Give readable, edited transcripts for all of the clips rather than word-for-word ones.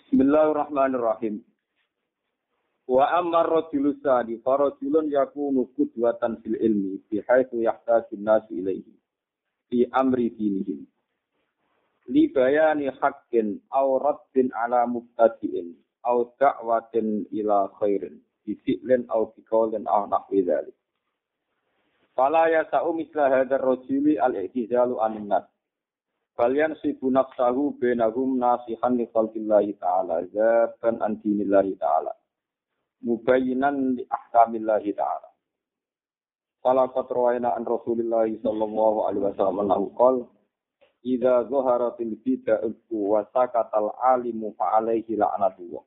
Bismillahirrahmanirrahim. Wa ammar rajulus sadi farajulun yakunu qudwatan fil ilmi bihaitsu yahtaju an-nas ilaihi fi amri dinihim. Li bayani haqqin aw raddin ala mubtadi'in aw da'watin ila khairin bifi'lin aw biqaulin aw nahwi dzalik. Fala yasa'u misla hadzal rajuli al-i'tizalu anin nas. Kalian sibu nafsahu bainahum nasihan li khalqillahi ta'ala zaban an dinillahi ta'ala mubayyinan li ahkamillahi ta'ala. Fala qatrawaina an Rasulillahi sallallahu alaihi wasallam qala idza zaharatil bid'atu wa sakatal alimu fa alaihi la'natullah.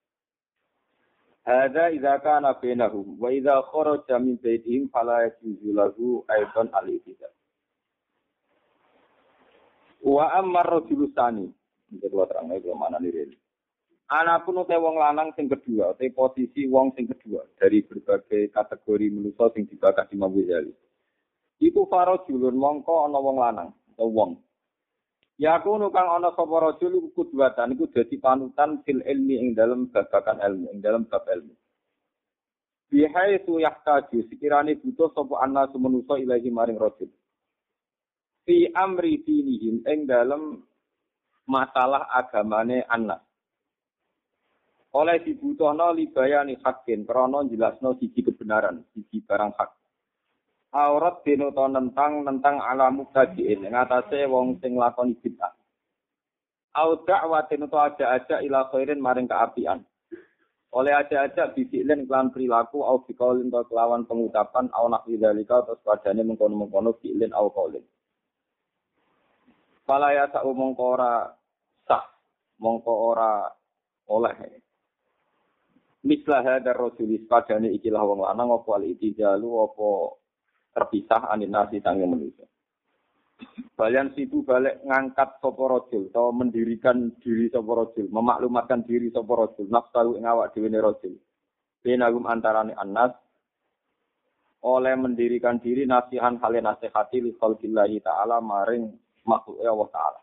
Hadza idza kana bainahum wa idza kharaja min baitihim fala yajuzu lahu aidan al-i'tizal. Wa ammar rajulus tsani. Iki kula terangno iki mana lirene. Anapun ute wong lanang sing kedua, ute posisi wong sing kedua dari berbagai kategori manusa sing dibakar di Imam Ghazali. Iku farajulun mongko ana wong lanang atau wong. Ya kuno kang ana sapa rajul iku kudwatan iku dadi panutan fil ilmi ing dalem babakan ilmu, ing dalem bab ilmu. Bihaitsu yahtaju sekirane butuh sapa ana manusa ilahi maring rajul. Fi amri dinihim ing dalem masalah agamane anak. Oleh dibutuhno libayani hakin krana jelasno siji kebenaran, siji barang hak. Aurat dinoto nentang alamu tadiin ing atase wong sing lakoni bid'ah. Au da'watin to aja ila khairin maring kaapian. Oleh aja bisiklen kelan perilaku au biqaulin to kelawan pengucapan au nahwi dzalika terus padane mengkono-mengkono fi'lin au qaulin. Fala ya sa'u mongko ora sah, mongko ora oleh. Mislah hadar rasulis padane ikilah wong lanang apa al-itijalu apa terpisah anin nasi sange manusia. Balian situ balik ngangkat sapa rajul atau mendirikan diri sapa rajul, memaklumatkan diri sapa rajul, nafsu ing awak dhewe ne rajul. Benagum antarane annas oleh mendirikan diri nasihan hale nasihati li khalqillahi ta'ala maring makhluk Allah Ta'ala.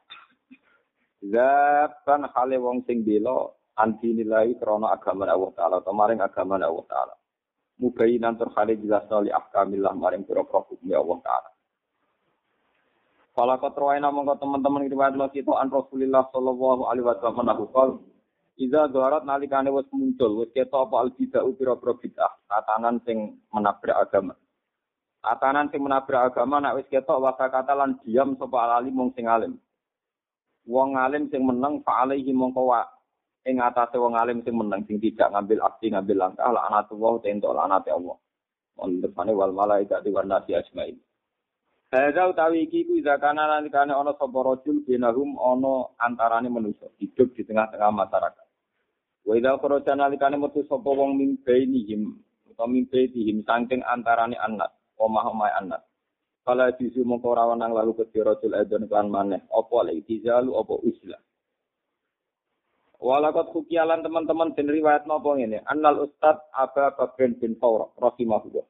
Zaban hale wong sing bela anti nilai krana agama Allah Ta'ala atau maring agama Allah Ta'ala. Mubayinan terhale jelasna li ahkamillah maring pira-pira hukum Allah Ta'ala. Fala qatraina mongko teman-teman riwayat kita an Rasulillah sallallahu alaihi wasallam nahukal iza dharat nalikane wis muncul wis ketok apa al-bid'ah pira-pira bid'ah tatanan sing menabrak agama. Atanan sing menabrak agama nek wis ketok wasakata lan diam sapa alim wong sing alim. Wong alim sing meneng fa alaihi mongko wa ing atase wong alim sing meneng sing tidak ngambil aksi ngambil langkah laknatullah tentu laknate Allah. Ondepane wal malaikati wan nasi ajmain. Hadza utawi iki ku zakana nalikane ana sapa rajul binahum ana antarane manusa hidup di tengah-tengah masyarakat. Wa idza kharaja nalikane metu sapa wong mimbainihim utawa mimbaitihim saking antarane anak omah-omah anak. Kala disu mongko rawan nang lalu kedhi rajul adzan kan maneh apa al-itizalu apa uslah. Walakot hukialan teman-teman den riwayat napa ngene annal ustad Aba Bakr bin Fawraq rahimahullah.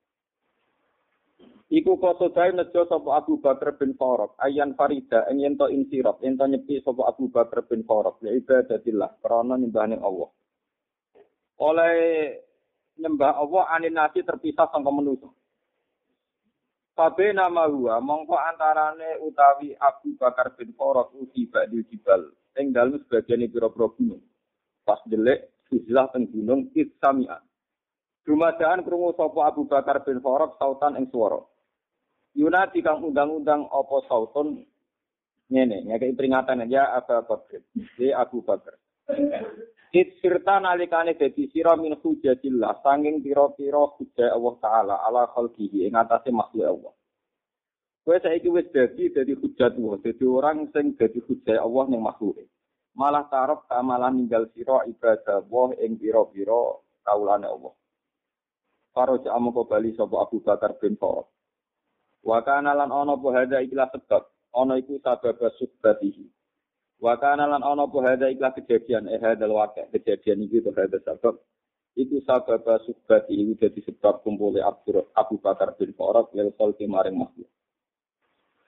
Iku kosodae nejo sapa Abu Bakar bin Fawraq ayan farida ing yen to insirab yen to nyepi sapa Abu Bakar bin Fawraq li ibadatillah krana nyembahane Allah. Oleh nyembah Allah anin nasi terpisah sangka manusa. Fabe nama huwa mongko antarane utawi Abu Bakar bin Fawraq uti badil jibal ing dalem sebagian pira-pira gunung. Pas delek izlah teng gunung Isamian. Dumadaan krungu sapa Abu Bakar bin Fawraq sautan ing swara. Yunati kang undang-undang apa sautun ngene ngekeki peringatan ya Abu Bakar. Abu Bakar. Sirta nalikane dadi sira min hujatillah sanging pira-pira hujah Allah Ta'ala ala khalqihi ing atase makhluk Allah. Kowe saiki wis dadi hujatmu, dadi orang sing dadi hujah Allah ning makhluke. Malah tarep amalan ninggal sira ibadah Allah ing pira-pira kaulane Allah. Karo jamu bali sapa Abu Bakar bin Fawraq. Wa kana lan ana apa hadza ikhlas sebab, ana iku sabab subatihi. Wa kana lan ana apa hadza ikhlas kejadian hadzal waqi' kejadian iki to hadza sebab iku sabab subatihi iku dadi sebab kumpule Abu Bakar bin Fawraq lil khalqi maring makhluk.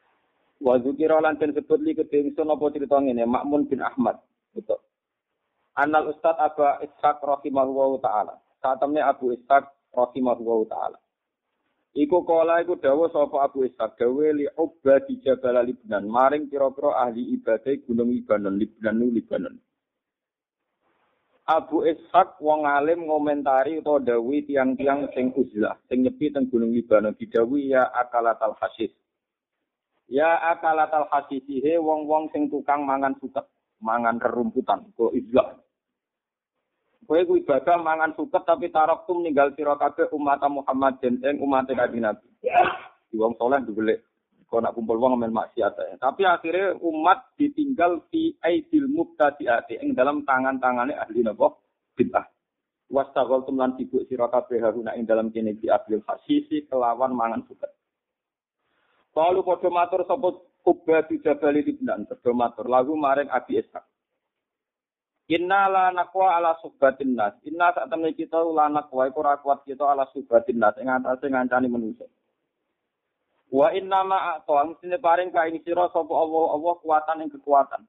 Wa dzikira lan disebut li kedhe ingsun apa crita ngene Ma'mun bin Ahmad. Betul. Anal Ustad Abu Ishaq rahimahullahu taala. Satemene Abu Ishaq rahimahullahu taala. Iku kala iku dawuh sapa Abu Ishaq dawe li ubadi Jabal Libnan maring pira-pira ahli ibadah gunung Libanon. Abu Ishaq wong alim ngomentari utawa dawuh tiang-tiang sing uzlah sing nyepi teng gunung Libanon didhawuhi ya akalatal hasis. Ya akalatal hasisihe wong-wong sing tukang mangan suket, mangan rerumputan, kok izlah. Kowe ku ibadah mangan suket tapi taraktum ninggal sira kabeh umat Muhammad ing umat Kanjeng Nabi. Di wong saleh digolek kok nak kumpul wong men maksiat ya. Tapi akhirnya umat ditinggal fi aidil mubtadi'ati ing dalam tangan-tangane ahli napa bid'ah. Wastaghaltum lan sibuk sira kabeh haruna ing dalam kene bi ahlil hasisi kelawan mangan suket. Kalau padha matur sapa Ubad Jabal Libnan padha matur lagu maring Abi Ishaq. Inna la naqwa ala subatin nas. Inna sak temne kita la naqwa iku ora kuat kita ala subatin nas ing atase ngancani manusa. Wa inna ma a'ta mestine paring ka ing sira sapa Allah kuatan ing kekuatan.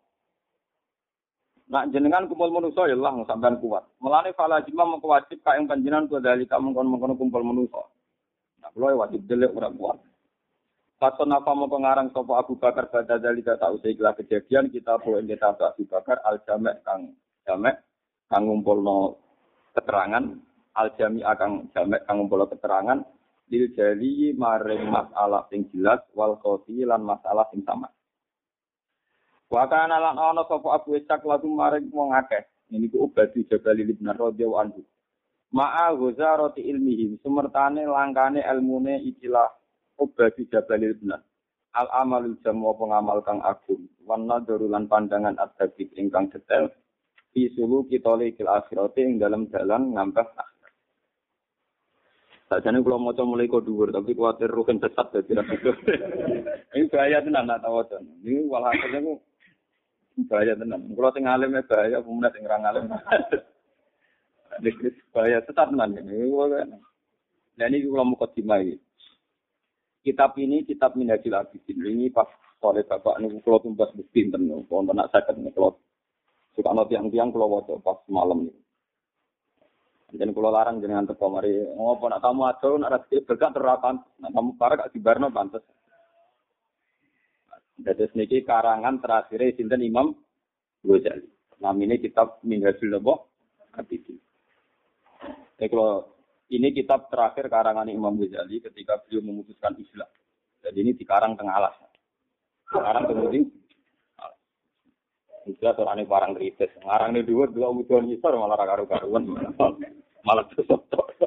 Nak jenengan kumpul manusa ya Allah sampean kuat. Mulane fala jima mengko wajib ka ing panjenengan kudalika mengkon-mengkon kumpul manusa. Nah kula wajib delek ora kuat. Paton apa mau pengarang sopo Abu Bakar pada dalika tak usai kelah kejadian kita boleh kita Abu Bakar al jamek kang ngumpulno keterangan al jami kang jamek kang ngumpulno keterangan lil jali maring masalah sing jelas wal qati lan masalah sing sama. Wa kana lan ana sopo Abu Ishaq lagu maring wong akeh ini ku Ubadi Jabal Libnan radhiyallahu anhu. Ma'a ghazarati ilmihi sumertane langkane ilmune ikilah Ubadi Jabal Libnan. Al-amalul jamu pengamal kang agung. Wan nadharu lan pandangan adabik ingkang detail. Fi suluki talikil akhirati ing dalam dalan ngampah akhirat. Sajane kula maca mulai kok dhuwur tapi kuwatir rugen sesat dadi ra gitu. Ini bahaya tenan nak tawacan. Ini walhasil niku bahaya tenan. Kula sing alim bahaya, pemuda sing ra alim. Dikris bahaya sesat tenan ini. Lah niki kula mukadimah iki. Kitab ini kitab Minhajul Abidin. Ini pas oleh bapak ini kalau tumbas bukti tentu. Kalau nak sakit nih kalau suka no tiang-tiang kalau waktu pas malam ini. Jadi kalau larang jangan teko mari. Oh, nak kamu aja nak rezeki berkat terapan. Nak kamu parah gak dibarno pantes. Jadi niki karangan terakhir sinten Imam Ghazali. Namanya kitab Minhajul Abidin. Kalau ini kitab terakhir karangan Imam Ghazali ketika beliau memutuskan Islam. Jadi ini dikarang tengah alas. Sekarang kemudian Islam orangnya barang kritis. Ngarang ini dua ujian Islam malah karu-karuan. Malah sesat.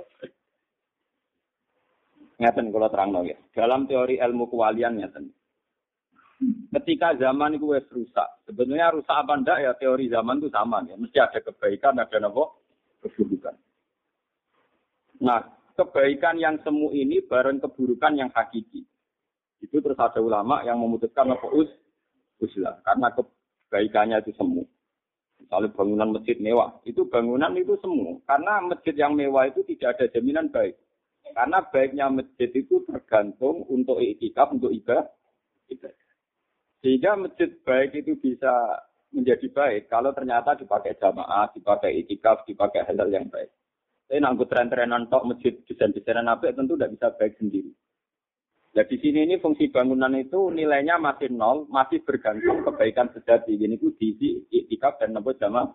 Ngeten kalau terang ya. Dalam teori ilmu kewalian ngeten. Ketika zaman itu rusak. Sebenarnya rusak apa enggak ya teori zaman itu sama ya. Mesti ada kebaikan, ada keburukan. Nah, kebaikan yang semu ini bareng keburukan yang hakiki. Itu terus ada ulama yang memutuskan uzlah karena kebaikannya itu semu. Misalnya bangunan masjid mewah, itu bangunan itu semu. Karena masjid yang mewah itu tidak ada jaminan baik. Karena baiknya masjid itu tergantung untuk iktikaf, untuk ibadah. Sehingga masjid baik itu bisa menjadi baik kalau ternyata dipakai jamaah, dipakai iktikaf, dipakai hal yang baik. Tapi nanggut tren-trenan tok masjid desain-desainan apa tentu tidak bisa baik sendiri. Nah di sini ini fungsi bangunan itu nilainya masih nol, masih bergantung kebaikan sejati. Ini itu diisi iktikaf dan nambah jamaah.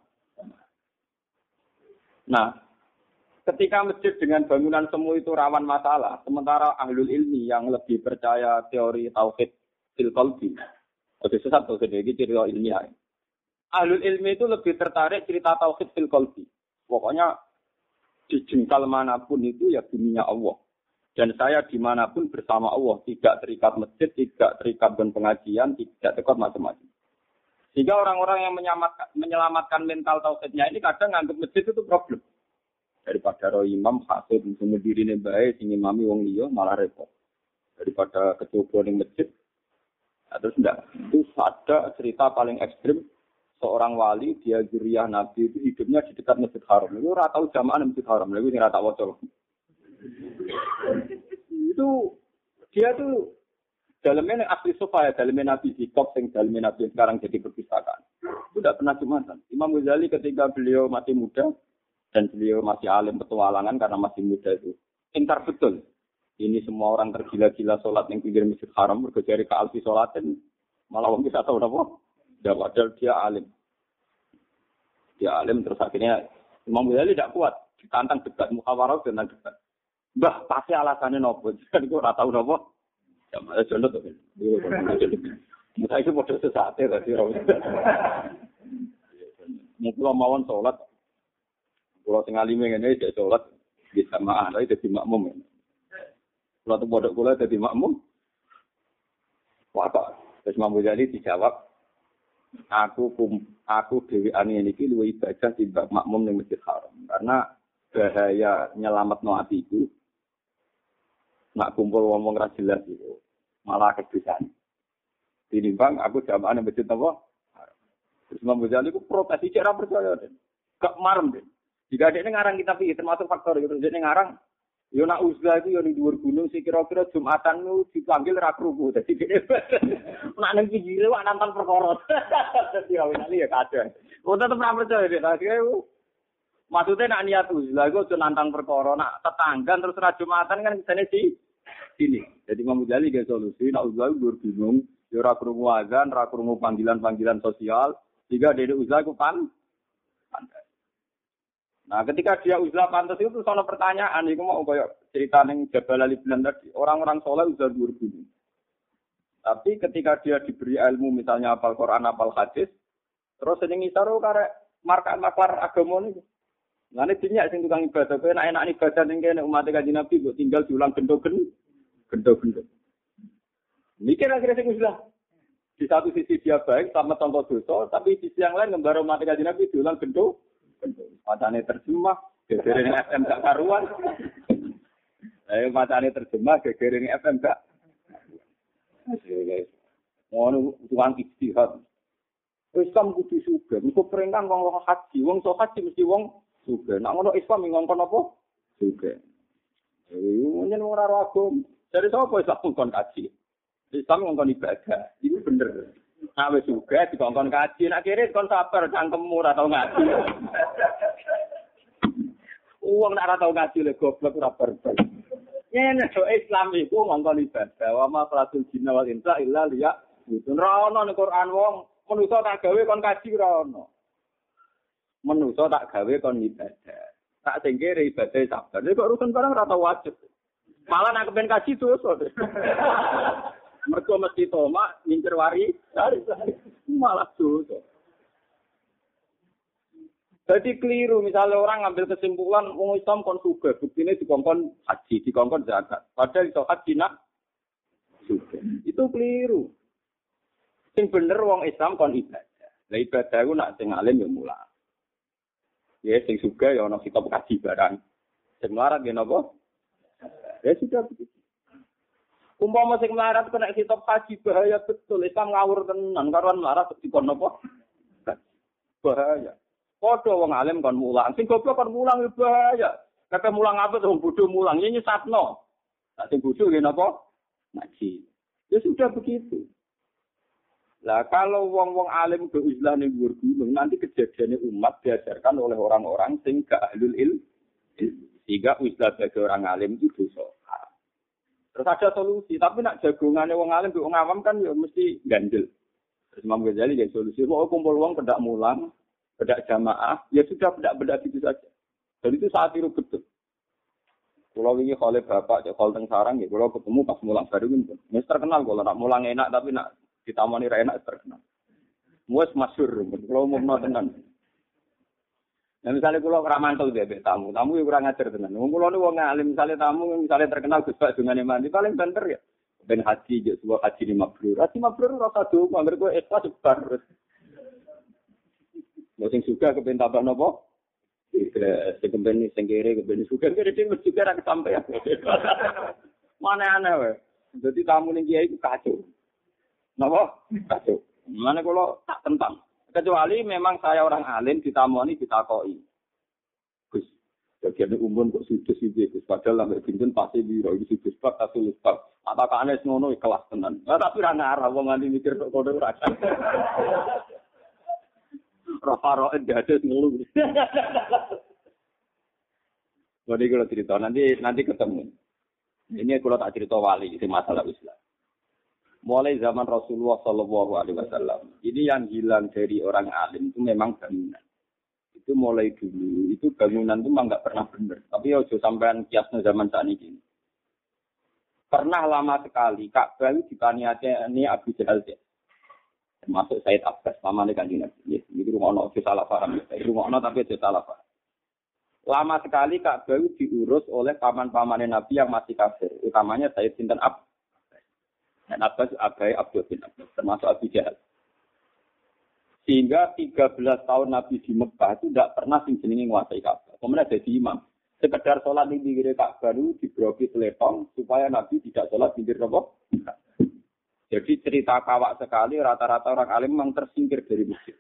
Nah, ketika masjid dengan bangunan semu itu rawan masalah, sementara ahlul ilmi yang lebih percaya teori tauhid fil qalbi. Oke, sesat tauhid ini cerita ilmiah. Ahlul ilmi itu lebih tertarik cerita tauhid fil qalbi. Pokoknya di jengkal manapun itu ya dunia Allah. Dan saya dimanapun bersama Allah. Tidak terikat masjid, tidak terikat dengan pengajian, tidak terikat macam-macam. Sehingga orang-orang yang menyelamatkan mental tauhidnya ini kadang nganggap masjid itu problem. Daripada roh imam, hasud, semua diri ini baik, sing imami wong liya malah repot. Daripada kecoba di masjid. Terus enggak. Itu ada cerita paling ekstrim. Seorang wali, dia zuriyah Nabi itu hidupnya di dekat Masjid Haram. Itu ora tahu jamaah Masjid Haram. Lha iki ora tak waca. Itu dia tuh Dalamnya asli sofa ya, dalamnya Nabi Zikop, yang dalamnya Nabi sekarang jadi perpustakaan. Itu tidak pernah Jumatan. Imam Ghazali ketika beliau masih muda, dan beliau masih alim petualangan karena masih muda itu. Ingkar betul. Ini semua orang tergila-gila sholat yang pinggir Masjid Haram, berkejari ke alfi sholatin, malah orang bisa tahu apa? Ya, padahal dia alim. Dia alim, terus akhirnya Imam Ghazali tidak kuat. Ditantang debat, muhawarah dengan debat. Mbah, pasti alasannya nopo. Kan itu ora tahu nopo. Ya malah jono to. Mutai itu padha sesate tadi ora. Mula mawon salat. Kula sing alime ngene iki salat di jamaah lha dadi makmum. Kula tuh bodok kula dadi makmum. Apa? Terus Imam Ghazali dijawab, aku dhewean iki luwih ibadah timbang makmum ning Masjid Haram. Karena bahaya nyelametno atiku. Nak kumpul ngomong ra jelas itu malah kebiasaan. Tinimbang aku jamaah nang masjid apa? Terus Imam Ghazali ku protes iki ora percaya den. Gak marem den. Jika dia ngarang kitab iki termasuk faktor itu dia ngarang yo nak uzlah itu yo ning dhuwur gunung sing kira-kira Jumatan lu dipanggil ra kruku. Dadi dia nak nang pinggire wak nonton perkara. Dadi awene ya kadang. Kok tetep ora percaya den. Maksudnya nak niat uzlah itu nantang perkara, nak tetanggan terus ra Jumatan kan kesane sini. Jadi Imam Ghazali ge solusi nak uzlah itu bingung, ya ora krungu azan, ora krungu panggilan-panggilan sosial, sehingga dene uzlah itu pantas. Nah, ketika dia uzlah pantas itu sono pertanyaan, iku mau koyo cerita ning Jabal Ali Bilan tadi, orang-orang saleh uzlah dhuwur gunung. Tapi ketika dia diberi ilmu misalnya hafal Quran, hafal hadis, terus sing ngisaro karek marka-marka agama niku. Ngene dinyak sing tukang ibadah, kowe enak-enak ibadah ning kene umat Kanjeng Nabi kok tinggal diulang gendo-gendo. Mikir akhirnya sing uzlah. Di satu sisi dia baik sama contoh dosa, tapi di sisi yang lain ngembara umat Kanjeng Nabi diulang gendo. Matane terjemah, gegere ning FM gak karuan. Matane terjemah, gegere ning FM gak. Ngono tukang istihad. Islam kudu sugih, mesti perintah wong haji, wong sok haji mesti wong sugih. Nek ngono Islam ngongkon apa? Sugih. Nyen ora ro agama. Dari sapa Islam ngongkon haji? Islam ngongkon ibadah. Ini bener. Nah wis sugih dikongkon kaji, nek kiri kon sabar cangkemmu ora tau ngaji. Wong nek ora tau ngaji le goblok ora barbar. Yen Islam iku ngongkon ibadah, wa ma falatul jinna wal insa illa liya. Itu ora ono ning Quran wong manusa tak gawe kon kaji ora ono. Manusa tak gawe kon ibadah. Tak sing kere ibadah sabar. Nek urusan barang ora tau wajib. Malah nek ben kaji dosa. Mergo mesti tomak ngincer wari, malah dosa. Jadi keliru misalnya orang ngambil kesimpulan wong Islam kon sugih, buktine dikongkon haji, dikongkon zakat. Padahal iso haji nak sugih. Itu keliru. Sing bener wong Islam kon ibadah. Lah ibadah ku nak sing alim yo mulang. Ya sing sugih ya ana kitab kaji barang. Sing melarat ya napa? Ya sudah begitu. Umpama sing melarat kena kitab haji bahaya betul. Islam ngawur tenan karuan melarat dikon napa? Bahaya. Padha wong alim kon mulang. Sing goblok kon mulang bahaya. Kata mulang apa wong bodho mulang ini nyesatno. Nek sing bodho nggih napa? Ngaji. Ya sudah begitu. Lah kalau wong-wong alim ke Islam ning dhuwur gunung nanti kejadiannya umat diajarkan oleh orang-orang sing gak ahlul ilm. Sehingga Islam bagi orang alim itu dosa. Terus ada solusi, tapi nak jagongane wong alim wong awam kan ya mesti gandel. Terus Imam Ghazali ya solusi, mau kumpul wong kedak mulang, kedak jamaah, ya sudah bedak-bedak gitu saja. Dan itu saat itu betul. Kalau ini oleh bapak, kalau teng sarang, ya kalau ketemu pas mulang baru ini, ini terkenal kalau nak mulang enak tapi nak ditamani ra enak terkenal. Wes masyhur, kalau mau tenan. Nah misalnya kalau ramantul bebek tamu yang kurang ajar tenan. Kalau nih wong alim misalnya tamu misalnya terkenal Gus Pak dengan mandi paling banter ya. Ben haji je sebuah haji ni mabrur. Haji mabrur rasa do mangger kowe ikhlas sebar. Sing suka kepen tambah napa? Sing kepen sing kere kepen suka kere dhewe juga ra kesampean. Mana aneh wae. Dadi tamu ning kiai ku kacau. Napa? Kacau. Mana kalau tak tentang. Kecuali memang saya orang alim ditamoni ditakoki. Gus, Bagian umum kok sudut sih, padahal sampai bintun pasti biro itu sudut bab atau bab. Apakah aneh ngono kelas tenan? Tapi ra ngarah wong nganti mikir kok kode ora. Rafaro ada ngeluh. Jadi kalau cerita nanti ketemu. Ini kalau tak cerita wali itu masalah Islam. Mulai zaman Rasulullah Shallallahu Alaihi Wasallam, ini yang hilang dari orang alim itu memang bangunan. Itu mulai dulu, itu bangunan itu memang nggak pernah benar. Tapi ojo sampean kiasnya zaman saat ini. Pernah lama sekali Ka'bah dipaniati Abu Jahal, termasuk Said Abbas, pamannya Kanjeng Nabi. Ini rumah ojo salah paham, rumah tapi ojo salah paham. Lama sekali Ka'bah diurus oleh paman-pamannya Nabi yang masih kafir, utamanya Said Sinten Abbas. Dan Abbas Abai Abdul bin Abbas, termasuk Abu Jahal. Sehingga 13 tahun Nabi di Mekah itu tidak pernah jenenge nguasai Ka'bah. Kemudian jadi imam. Sekedar sholat di pinggir Ka'bah itu dibroki telepon supaya Nabi tidak sholat di pinggir Ka'bah. Jadi cerita kawak sekali, rata-rata orang alim memang tersingkir dari masjid.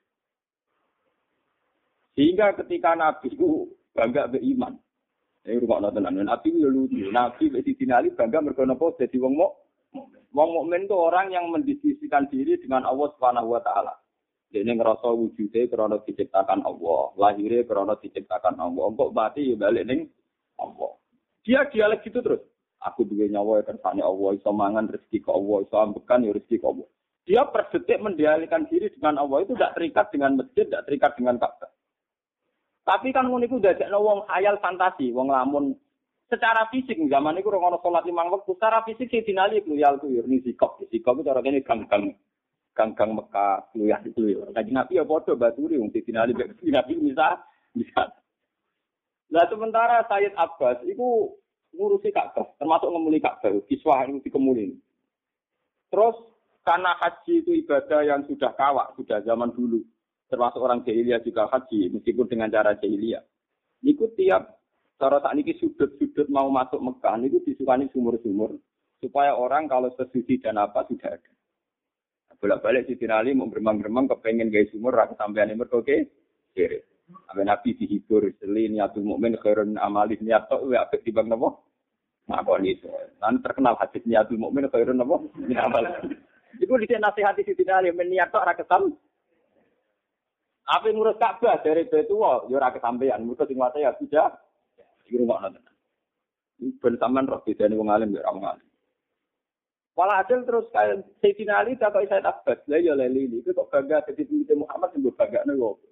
Sehingga ketika Nabi itu bangga beriman. Ini rumah nontonan. Nabi itu lucu. Nabi di Ali bangga mergo jadi wong mukmin itu orang yang mendiskusikan diri dengan Allah Subhanahu wa taala. Dia ngerasa wujudnya karena diciptakan Allah, lahirnya karena diciptakan Allah. Kok mati ya balik ning Allah. Dia dialek gitu terus. Aku duwe nyawa ya kersane Allah, iso mangan rezeki ke Allah, iso ambekan ya rezeki ke Allah. Dia per detik mendialekkan diri dengan Allah itu tidak terikat dengan masjid, tidak terikat dengan Ka'bah. Tapi kan ngono iku dadekno wong khayal fantasi, wong lamun secara fisik zaman iku ora ono salat 5 waktu, secara fisik sing dinali kluyal ku yo ni sikop itu cara kene gang Mekah kluyah itu yo. Kanjeng Nabi ya padha baturi wong dinali Nabi bisa. Lah sementara Sayyid Abbas iku ngurusi Ka'bah, termasuk ngemuli Ka'bah, kiswah itu dikemuli. Terus karena haji itu ibadah yang sudah kawak, sudah zaman dulu. Termasuk orang jahiliyah juga haji, meskipun dengan cara jahiliyah. Niku tiap cara saat ini sudut-sudut mau masuk Mekah, niku disukani sumur-sumur. Supaya orang kalau sesuci dan apa sudah ada. Bolak-balik si Tinali mau beremang-beremang kepengen gaya sumur, rasa sampean ini oke? Kiri. Sampai Nabi dihibur, seli niatul mukmin khairun amalih niatul, ya apa dibang nopo? Ngakon itu. Nanti terkenal hadis niatul mukmin khairun nopo? Amal. Itu disini nasihati si Tinali, meniatul ora kesam. Apa ngurus Ka'bah dari Baitullah, ya ora kesampean. Mergo sing wae ya sudah di rumah nonton. Ben sampean roh bedane wong alim ya ora wong alim. Walhasil terus kayak Sayyidina Ali tak kok Sayyid Abbas, lah ya leli itu kok bangga dadi pemimpin Muhammad sing banggane kok.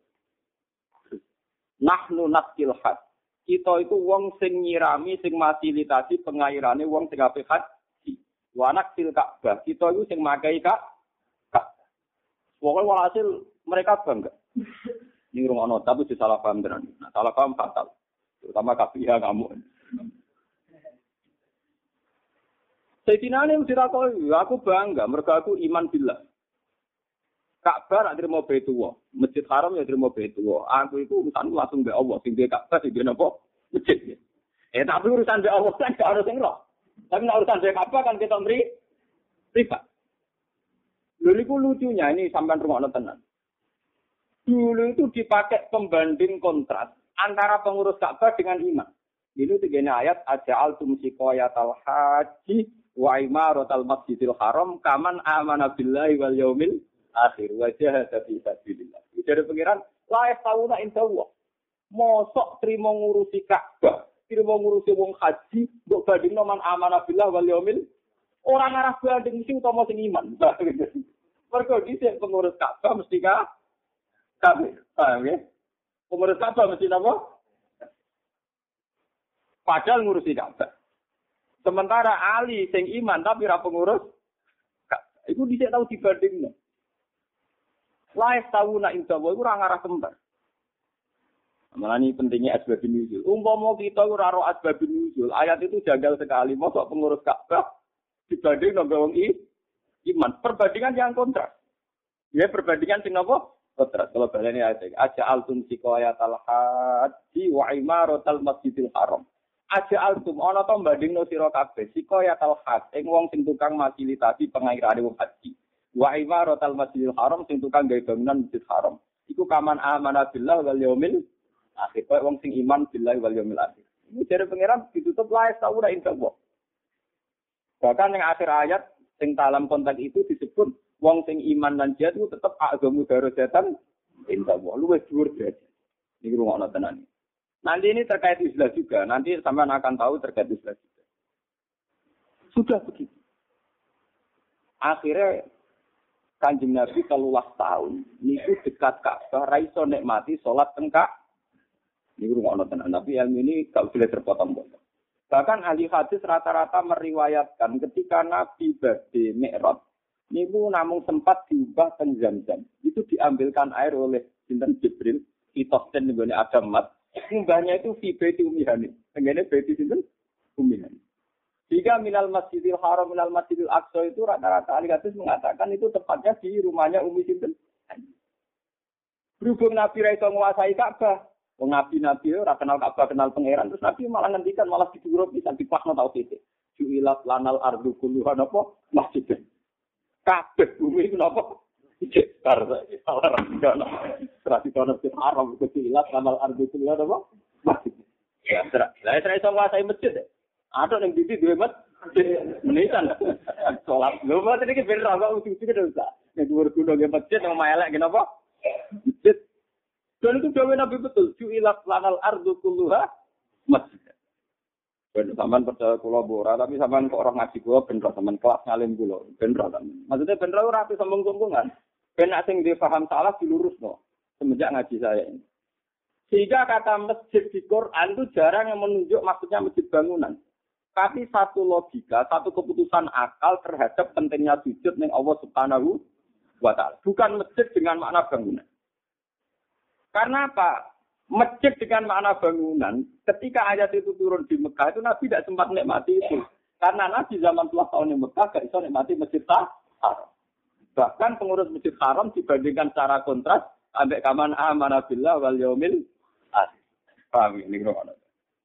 Nahnu naskil had. Kita itu wong sing nyirami, sing fasilitasi pengairane wong sing apik haji. Wa naksil Ka'bah, kita itu sing makai Ka'bah. Pokoke walhasil mereka bangga. Ini rumah not, tapi salah paham tenan. Nah, salah paham fatal. Terutama KPIA kamu. Sayyidina Ali dirakoi, aku bangga, mereka aku iman billah. Ka'bah nak terima Baitullah, Masjid Haram ya terima Baitullah. Aku itu urusan langsung be Allah, sing dia Ka'bah sing dia napa? Masjid. Tapi urusan be Allah kan gak harus sing roh. Tapi nek urusan be Ka'bah kan kita beri privat. Lha niku lucunya ini sampean rungokno tenan. Dulu itu dipakai pembanding kontras antara pengurus Ka'bah dengan imam. Ini tiga ayat aja'al tumsikoyatal haji wa imaratal masjidil haram kaman amana billahi wal yaumil akhir wa jahada fi sabilillah. Dari pengiran la yastauna insyaallah. Mosok trimo ngurusi Ka'bah, trimo ngurusi wong haji, mbok bandingno man amana billahi wal yaumil ora ngarah banding sing utama sing iman. Mergo dhisik pengurus Ka'bah mesti kafir. Paham ya? Pengurus Ka'bah mesti apa? Padahal ngurusi Ka'bah. Sementara Ali sing iman tapi ora pengurus Ka'bah. Iku dhisik tau dibandingno. Lae tauna indawa iku ora ngarah kembar. Malah ini pentingnya asbabun nuzul. Umpama kita ora ro asbabun nuzul, ayat itu janggal sekali. Mosok pengurus Ka'bah dibanding nang wong iman. Perbandingan yang kontras. Ya perbandingan sing napa? Kontras. Kalau baleni ayat aja'altum siqayatal haji wa imaratal masjidil haram. Aja'altum ana to bandingno sira kabeh siqayatal haj ing wong sing tukang fasilitasi pengairane wong haji. Wa imaratal masjidil haram sing tukang gawe bangunan masjid haram. Iku kaman amana billah wal yaumil akhir. Kayak wong sing iman billahi wal yaumil akhir. Ini dari pangeran ditutup la yastauna indallah. Bahkan yang akhir ayat sing dalam konteks itu disebut wong sing iman lan jihad itu tetap agamu darajatan indallah. Luwih dhuwur derajat. Ini rungokno tenan. Nanti ini terkait Islam juga. Nanti sampean akan tahu terkait Islam juga. Sudah begitu. Akhirnya Kanjeng Nabi 13 tahun niku dekat Ka'bah ra iso nikmati salat teng Ka'bah. Niku ngono tenan. Tapi ilmu ini gak boleh terpotong-potong. Bahkan ahli hadis rata-rata meriwayatkan ketika Nabi badhe Mi'raj niku namung sempat diubah teng Zamzam. Itu diambilkan air oleh sinten Jibril, Itosten nggone Adam Mat. Mbahnya itu fi baiti Ummihani. Tengene baiti sinten? Ummihani. Jika minal Masjidil Haram, minal Masjidil Aqsa itu rata-rata ahli hadis mengatakan itu tepatnya di rumahnya Ummi Sinten. Berhubung Nabi ra iso nguasai Ka'bah, wong nabi-nabi ora kenal Ka'bah, kenal pangeran, terus Nabi malah ngendikan malah disuruh bisa dipakno tau titik. Ju'ilat lanal ardu kulluha napa masjid. Kabeh bumi iku napa? Cekar salah ra. Tradisi Masjid Haram ju'ilat lanal ardu kulluha napa? Masjid. Ya, lah saya iso nguasai masjid. Ada yang didi dua menitan sholat. Lho mboten iki ben ra kok uji-uji dosa. Nek dhuwur gunung nggih masjid nang elek napa? Masjid. Dan itu dawuh Nabi betul. Ju'ilat lanal ardu kulluha masjid. Ben sampean percaya kula ora, tapi sampean kok ora ngaji kula ben ra sampean kelas ngalim kula. Ben ra sampean. Maksudnya ben ra ora ape sombong-sombongan. Ben nek sing dipaham salah dilurusno semenjak ngaji saya ini. Sehingga kata masjid di Quran itu jarang yang menunjuk maksudnya masjid bangunan. Tapi satu logika, satu keputusan akal terhadap pentingnya sujud ning Allah Subhanahu wa taala. Bukan masjid dengan makna bangunan. Karena apa? Masjid dengan makna bangunan, ketika ayat itu turun di Mekah itu Nabi tidak sempat nikmati itu. Karena Nabi zaman 10 tahun di Mekah gak bisa nikmati Masjid Haram. Bahkan pengurus Masjid Haram dibandingkan secara kontras ambek kaman amana billah wal yaumil akhir. Paham ini ngono.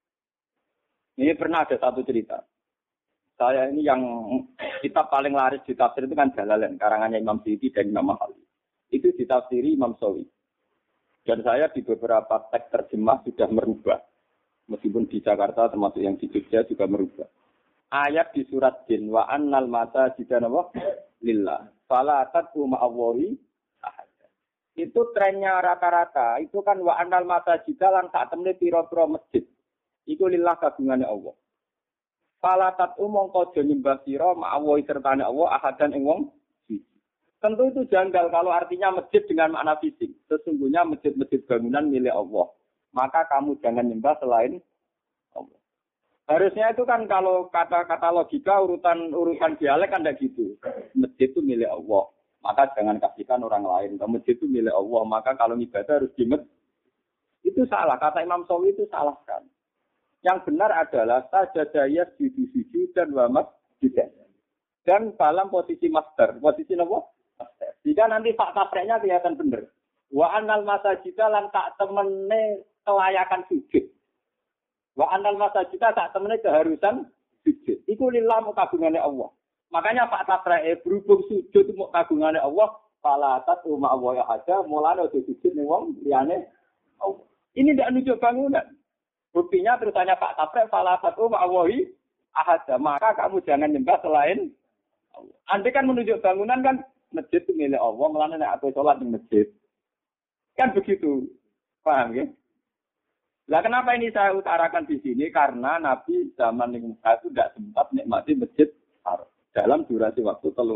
Ini pernah ada satu cerita. Saya ini yang kitab paling laris di tafsir itu kan Jalalain, karangannya Imam Suyuti dan Imam Mahali. Itu ditafsiri Imam Sawi. Dan saya di beberapa teks terjemah sudah merubah. Meskipun di Jakarta termasuk yang di Jogja juga merubah. Ayat di surat Jin wa annal masajida lillah. Fala tad'u ma'allahi ahad. Itu trennya rata-rata. Itu kan wa annal masajida lan sak temne pira-pira masjid. Iku lillah kagungane Allah. Fala tad'u mongko aja nyembah sira ma'allahi sertane Allah ahadan ing wong siji. Tentu itu janggal kalau artinya masjid dengan makna fisik. Sesungguhnya masjid-masjid bangunan milik Allah. Maka kamu jangan nyembah selain Allah. Harusnya itu kan kalau kata-kata logika urutan dialek kan tidak gitu. Masjid itu milik Allah. Maka jangan kasihkan orang lain. Kalau masjid itu milik Allah. Maka kalau ibadah harus di masjid. Itu salah. Kata Imam Sawi itu salah kan. Yang benar adalah sajadaya sujud dan wamas juga. Dan dalam posisi master. Posisi apa? Master. Jika nanti fakta praknya kelihatan benar. Wa annal masajida lan tak temene kelayakan sujud. Wa annal masajida tak temene keharusan sujud. Iku lillah kagungane Allah. Makanya fakta praknya berhubung sujud itu kagungane Allah. Fala tatu ma Allah aja mulane sujud ning wong liyane Allah. Ini tidak nunjuk bangunan. Buktinya terusannya Pak Taprek falasatu ma'awahi ahada. Maka kamu jangan nyembah selain Allah. Andai kan menunjuk bangunan kan masjid itu milik Allah. Melana nek aku sholat di masjid. Kan begitu. Paham ya? Lah kenapa ini saya utarakan di sini? Karena Nabi zaman yang Mekah itu tidak sempat nikmati masjid Haram. Dalam durasi waktu 13.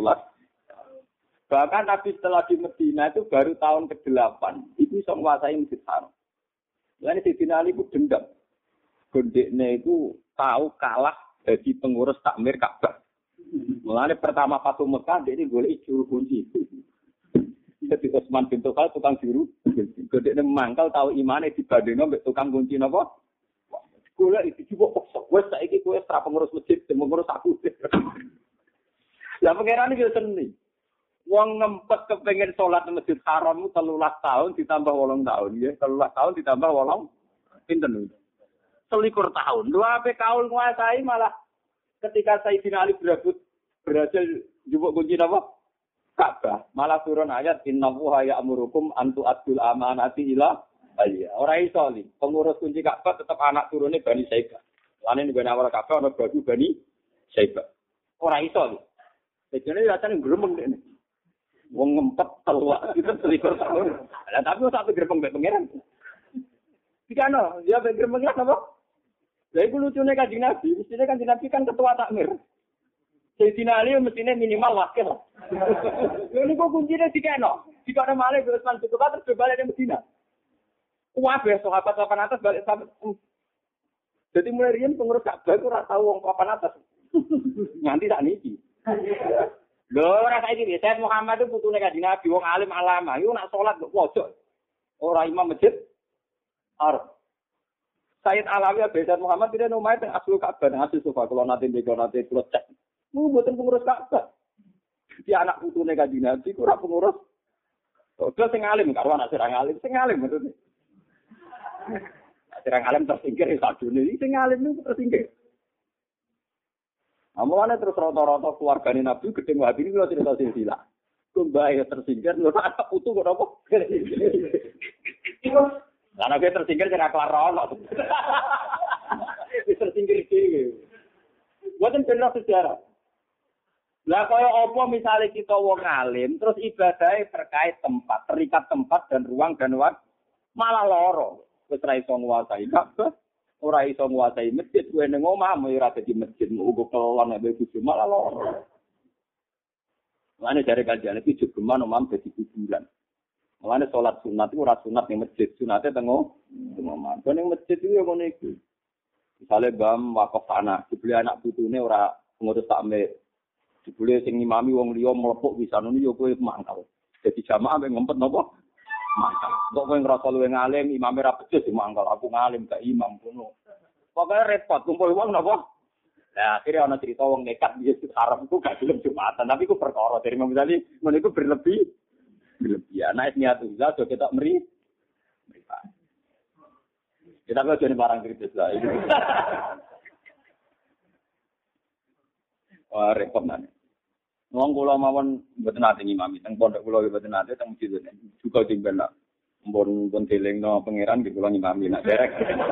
Bahkan Nabi setelah di Medina itu baru tahun ke-8. Itu bisa menguasai masjid Haram. Lain Sayyidina Ali itu dendam. Gondeknya itu tahu kalah jadi pengurus takmir Ka'bah. Mulanya pertama Fatu Mekah dia ini boleh juru kunci. Jadi Utsman bin Tufal tukang juru. Gondeknya mangkal tahu imannya dibandingkan dengan tukang kunci apa? Golek iki coba paksa. Wes saiki kowe ora pengurus masjid, pengurus aku. Lah pangeran iki seni. Wong ngempet kepengin salat nang Masjid Haram 13 tahun ditambah 8 tahun nggih. 13 tahun ditambah 8 pinten lho. 21 tahun. Lho ape kaul nguasai malah ketika Sayyidina Ali berhasil njupuk kunci napa? Ka'bah. Malah turun ayat innallaha ya'murukum an tu'addul amanati ila Iya, ora iso li. Pengurus kunci Ka'bah tetap anak turune Bani Saibah. Lane ning awal Ka'bah ana batu Bani Saibah. Ora iso li. Dene rasane gremeng dene. Wong ngempet telua itu selikur tahun. Lah tapi sak gremeng mek pangeran. Dikano, dia gremeng apa? Lah iku lucune Kanjeng Nabi, mestine Kanjeng Nabi kan ketua takmir. Sayyidina Ali mestine minimal wakil. Lha niku kuncine dikeno. Dikano malih Utsman bin Affan terus balik ning Madinah. Kuwabe sahabat papan atas balik sampe. Jadi mulai riyen pengurus Ka'bah iku ora tau wong papan atas. Nganti sak niki. Lho ora saiki Sayyid Muhammad itu putune Kanjeng Nabi wong alim alama, iku nak salat kok pojok. Ora imam masjid. Arep. Sayyid Alawi Sayyid Muhammad tidak nomai teng aslu Ka'bah, asli sofa kalau nanti kula cek. Mu mboten pengurus Ka'bah. Di anak putune Kanjeng Nabi ora pengurus. Kok sing alim karo anak sing alim, sing alim maksudnya. Sing alim tersingkir sadune iki sing alim niku tersingkir. Amane terus rata-rata keluargane Nabi gedeng wae iki lho cerita silsilah. Kumbahe tersingkir lho anak putu kok apa? Karena gue tersingkir kena kelar ono. Wis tersingkir dhewe. Mboten bener sejarah. Lah kaya apa misalnya kita wong alim terus ibadahnya terkait tempat, terikat tempat dan ruang dan waktu malah loro. Wis ora iso nguasai Ka'bah, ora iso nguasai masjid, kowe ning omah ora dadi masjid, uga kelon nek bojo malah loro. Mane jare kajian iki jogeman omah dadi kuburan. Mulane salat sunat itu ora sunat ning masjid, sunate teng omah. Kok ning masjid iki ngono iku. Misale bam wakaf tanah, dibeli anak putune ora ngurus takmir. Dibeli sing ngimami wong liya mlepuk bisa ngono ya kowe mangkal. Dadi jamaah mek ngempet napa? Mangkal. Kok kowe ngrasa luwih ngalim, imame ra becus mangkal. Aku ngalim gak imam ngono. Pokoke repot kumpul wong napa? Nah, akhirnya ana cerita wong nekat di haram itu gak gelem Jumatan, tapi iku perkara dari Imam Ghazali ngono iku berlebih. Ya, naik niatullah, so kita meri. Kita kok jadi barang kritis lah. Wah, repot nanti. Wong kula mawon mboten nate ngimami, teng pondok kula mboten nate teng masjid juga timben lah. Mbon delingno pangeran di kula ngimami nak derek.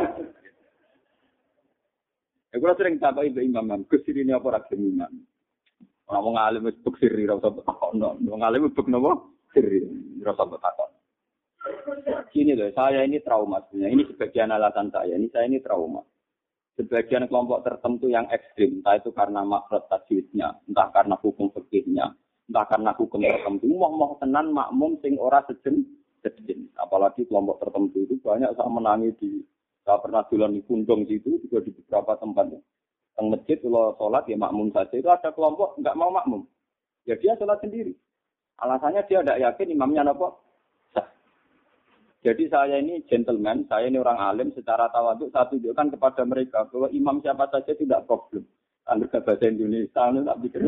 Ya kula sering takoki mbek imam, Gus sirine apa ra gelem imam. Ora wong alim wis bek siri ra usah takono. Wong alim bek napa? Siri, rasa bertakon. Gini loh, saya ini trauma sebenarnya. Ini sebagian alasan saya. Saya ini trauma. Sebagian kelompok tertentu yang ekstrim, entah itu karena makrot tajwidnya, entah karena hukum fikihnya, entah karena hukum tertentu. Mau tenan makmum sing ora sejen. Apalagi kelompok tertentu itu banyak saya menangi saya pernah dolan di Pundong situ, juga di beberapa tempat. Teng masjid kalau sholat ya makmum saja. Itu ada kelompok nggak mau makmum. Ya dia sholat sendiri. Alasannya dia tidak yakin imamnya apa. Jadi saya ini gentleman, saya ini orang alim secara tawaduk saya tunjukkan kepada mereka bahwa imam siapa saja tidak problem. Anda bahasa Indonesia, Anda tak pikir.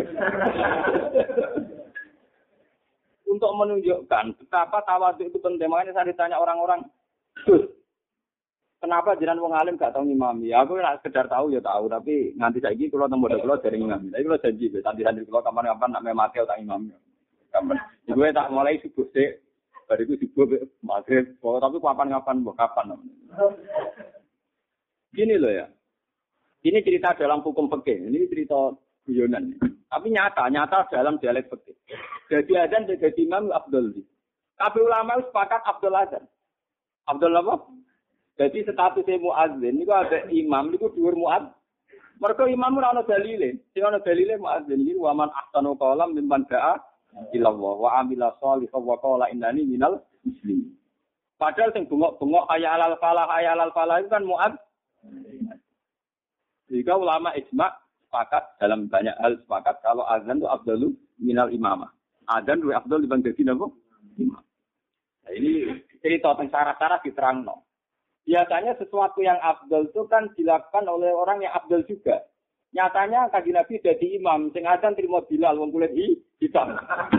Untuk menunjukkan betapa tawaduk itu penting. Makanya saya ditanya orang-orang, Gus, kenapa jenengan wong alim gak tahu ngimami? Aku nak sekedar tahu ya tahu, tapi nganti saiki kula teng bodho kula dereng ngimami. Tapi kula janji santri-santri kula kapan-kapan nak mati tak ngimami. Gue tak mulai subuh sih, bariku subuh maghrib. Tapi kapan-kapan, kapan? Gini loh ya, ini cerita dalam hukum fikih, ini cerita guyonan. Tapi nyata dalam dialek fikih. Jadi adzan jadi imam Abdul. Kabeh ulama sepakat Abdul adzan. Abdul apa? Jadi statusnya muadzin, niku ada imam, niku dhuwur muadzin. Mergo imam ora ana dalile. Sing ana dalile muadzin iki wa man ahsanu qalam mimman da'a ilallah wa amila sholihan wa qala innani minal muslimin. Padahal sing bengok-bengok ayalal falah itu kan muad. Jika ulama ijma sepakat dalam banyak hal sepakat kalau azan itu afdalu minal imamah. Azan lebih afdal dibanding dadi napa? Imam. Nah, ini cerita tentang syarat-syarat diterangno. Biasanya sesuatu yang afdal itu kan dilakukan oleh orang yang afdal juga. Nyatanya Kanjeng Nabi jadi imam, sing azan trimo Bilal wong kulit hitam.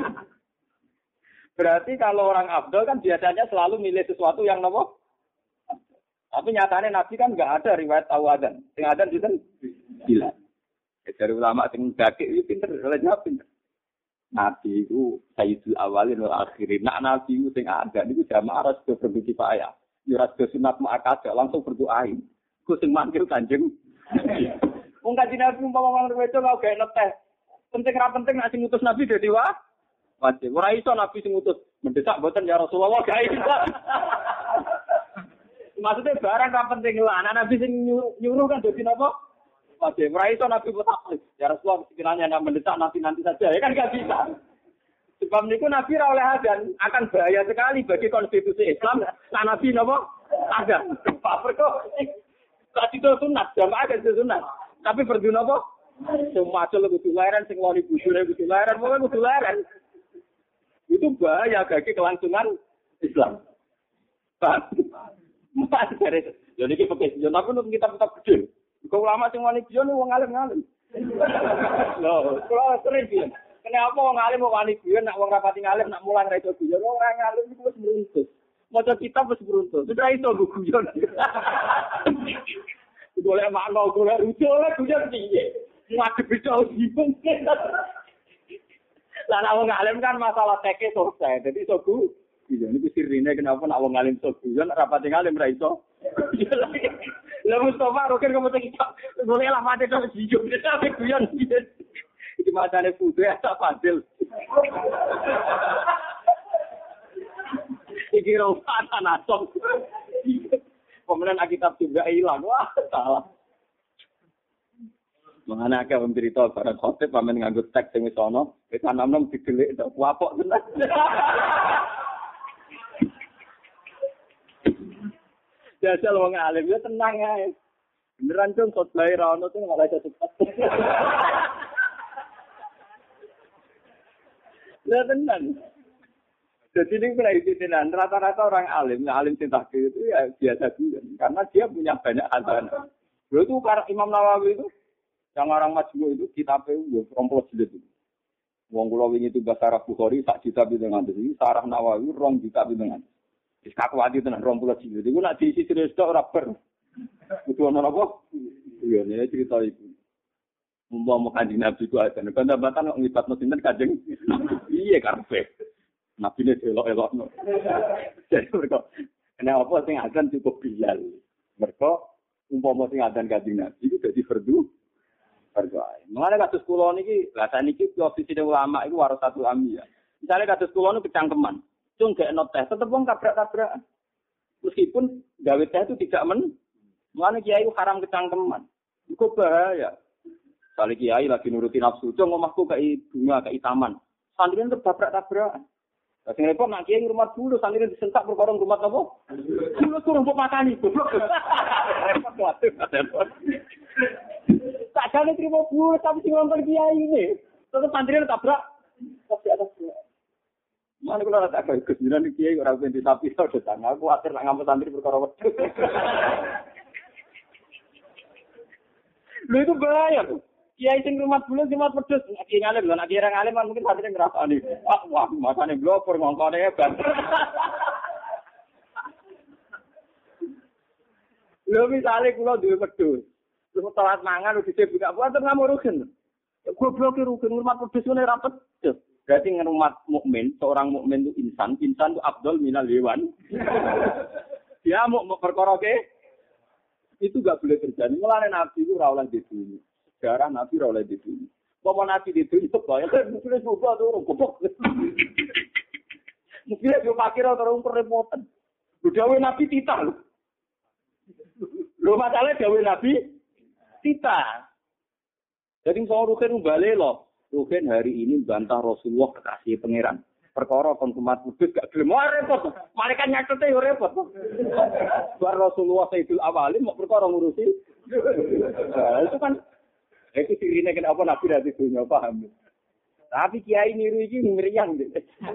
Berarti kalau orang afdal kan biasanya selalu milih sesuatu yang nopo. Tapi nyatanya Nabi kan enggak ada riwayat tahu azan. Sing azan sinten? Bilal. Dari ulama sing dakik iki pinter, jawab pinter. Nabi itu sayyidul awalin wal akhirin. Nak Nabi itu sing azan niku jamaah harus berbagi payah. Ya ora sunat muakkad langsung berdoain. Ku sing manggil Kanjeng. Wong Kanjeng Nabi umpama wong wedok kok gak neteh. Penting ra penting nek sing ngutus Nabi dadi wajib. Ora iso Nabi sing ngutus mendesak mboten ya Rasulullah gak iso. Maksudnya barang ra penting lah. Anak Nabi sing nyuruh kan dadi napa? Wajib. Ora iso Nabi petak. Ya Rasulullah sekiranya anda mendesak nanti saja. Ya kan gak bisa. Sebab niku Nabi ra oleh adzan akan bahaya sekali bagi konstitusi Islam. Nah Nabi napa? Adzan. Pak perko. Tak itu sunat, jamaah kan sunat. Tapi perdu napa? Semua acul kudu leren sing loni bujune kudu leren, pokoke kudu leren. Itu bahaya bagi kelangsungan Islam. Pak. Mas dari jadi iki pakai yo tapi untuk kita tetap gede. Kok ulama sing wani biyen wong alim-alim. Loh, kalau sering biyen. Kenapa wong alim wong wani biyen nak wong rapati ngalim nak mulang ra iso biyen. Wong ora ngalim iku wis beruntung. Maca kitab wis beruntung. Sudah iso guyon. Golek makna golek rujuk guyon piye? Ngadep iso bingung. Lah nek wong alim kan masalah teke selesai. Jadi iso guyon niku sirine kenapa nek wong alim iso guyon rapati ngalim ra iso. Lah Mustafa roken kok mesti kita golek lah mate tok guyon. Tapi guyon piye? Iki macane putu ya tak fadil. Iki rompatan asom. Pemenang kitab juga hilang. Wah, salah. Mangane akeh wong cerita barang khotib pamen nganggo teks sing wis ana, wis anom-anom didelik tok wapok tenan. Jajal wong alim ya tenang ae. Beneran dong khotbah ra ono tuh ora iso cepet. Lah tenan. Jadi ini penelitian rata-rata orang alim sing tahqiq itu ya biasa biasa karena dia punya banyak adzan. Dulu itu Imam Nawawi itu yang orang majmu itu kitabnya rompol jilid itu. Wong kula wingi itu bahasa Arab Bukhari sak juta dengan ini sarah Nawawi 2 juta dengan. Wis kakuati tenan rompol jilid. Iku nek diisi terus tok ora ber. Kudu ana apa? Iya nek cerita iku. Mumpama Kanjeng Nabi ku adzan. Bantah-bantah kok nglibatno sinten Kanjeng. Iya karepe. Nabi ini elok-elok. Jadi mereka, kenapa sing adzan cukup Bilal? Mereka, umpama sing adzan Kanjeng Nabi itu jadi fardu ain. Mengenai kasus kula niki, lah saniki posisi ulama itu warasatul anbiya. Misalnya kasus kula niku kecangkeman, cung gak ono teh, tetep wong tabrak-tabrakan. Meskipun gawe teh itu tidak mengenai kiai itu haram kecangkeman. Itu bahaya. Kali kiai lagi nuruti nafsu, cung omahku kayak bunga, kayak taman. Santri itu tabrak-tabrakan. Sing repot nak kiai rumah dulu santri disentak perkara rumah apa? Dulu suruh mbok makani goblok. Repot waduh. Tak jane trimo dulu tapi sing nonton kiai ini. Tetep santri tabrak. Mana kula tak kaya kejiran kiai ora ben disapi tok datang. Aku akhir nak ngamuk santri perkara wedhus. Lho itu bahaya tuh. Kiai sing rumah dulu cuma pedes, kiai ngalim lho, nek kiai ngalim kan mungkin hatinya ngrasani. Wah, makane blopor ngongkone hebat. Lho misale kula duwe pedus. Terus telat mangan udah dhisik buka puasa ngamuk rugen. Goblok rugen rumah pedus ngene ra pedes. Berarti rumah mukmin, seorang mukmin itu insan itu afdal minal hewan. Dia mau perkara itu enggak boleh terjadi. Mulane Nabi itu ora oleh dibunuh. Sejarah Nabi oleh di sini. Bapak Nabi di sini sebab ya mungkin juga tuh goblok. Mungkin dia pakir atau remotan. Dawe Nabi tita. Lho masalah dawe Nabi tita. Jadi soal Rukin balik loh. Rukin hari ini bantah Rasulullah kekasih pangeran. Perkara konsumat kudus gak gelem repot. Malaikat nyatete yo repot. Bar Rasulullah Sayyidul Awalin mau perkara ngurusi. Itu kan itu sirine kenapa Nabi dari dunia paham. Tapi kiai niru iki meriang deh.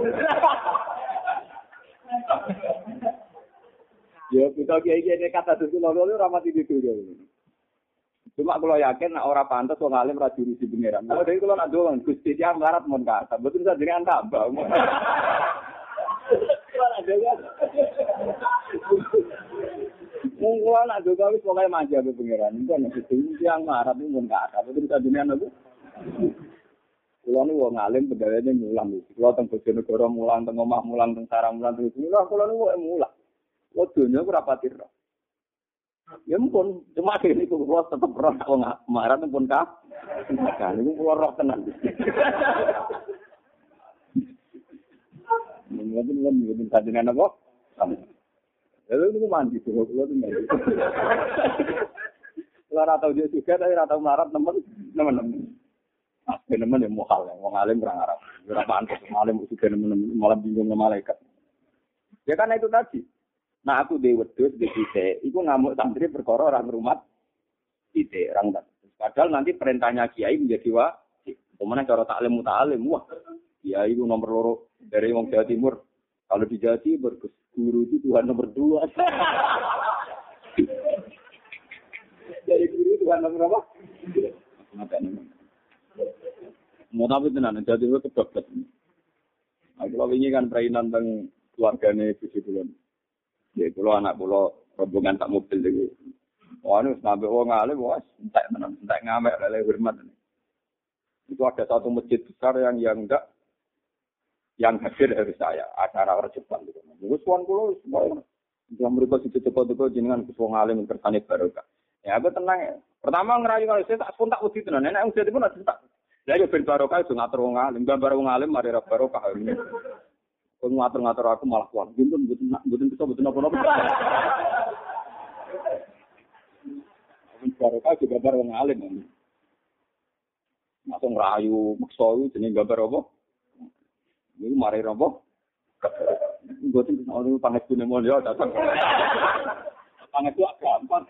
Ya kita kiai kata itu lalu ramati di dunia. Cuma kalau yakin nak orang pantas wong alim ra jurusi pangeran. Kalau dari kalau nak doang Gusti dia melarat mon kata. Betul saja dengan tambah. Mungkin ada kami sebagai manja be pangeran. Itu nek itu yang marah itu mun kata. Betul saja dengan aku. Kulo nu wong alim pegawene mulang iki. Kulo teng Bojonegoro mulang, teng omah mulang, teng sarang mulang terus. Kulo nu mulang. Waduhnya ora pati roh. Ya ampun, cuma ini kula tetep roh wong marah pun kah. Kan niku kula roh tenan. Mungkin kajian apa? Lalu itu mandi tuh, kalau itu mandi. Kalau rata dia juga, tapi rata marah teman-teman. Teman-teman yang muhal, yang alim berang Arab. Berapa antus, alim juga teman-teman malah bingung sama malaikat. Ya karena itu tadi. Nah aku di wedhus di sisi, itu ngamuk santri perkara orang rumah ide orang tadi. Padahal nanti perintahnya kiai menjadi wajib. Kemudian cara taklim mutalim, wah, kiai itu nomor loro dari wong Jawa Timur. Kalau di Jawa Timur, guru itu Tuhan nomor 2. Jadi guru Tuhan nomor berapa? Mau tapi tenan, Jawa Timur kebablas. Nah, kalau ini kan perainan tentang keluarganya Gusti Kulon. Ya, kalau anak pulau rombongan tak mobil lagi. Wah, ini sampai orang alim, wah, entek ngamek, lele hormat. Itu ada satu masjid besar yang enggak. Yang hadir dari saya, acara rejepan gitu. Kusuan kulo semua yang mereka situ-situ jenengan kusuan alim kersane barokah. Ya aku tenang ya. Pertama ngerayu kalau saya tak spontak wedi tenan. Nek wong dadi pun ada tak. Lah yo ben barokah iso ngatur wong alim, gambar wong alim mari ra barokah. Kok ngatur-ngatur aku malah kuat. Mboten apa-apa. Barokah juga gambar wong alim. Masuk ngerayu maksa jeneng gambar apa? Ini mari roboh. Gue tuh orang panggil punya mulia datang. Panggil itu gampang.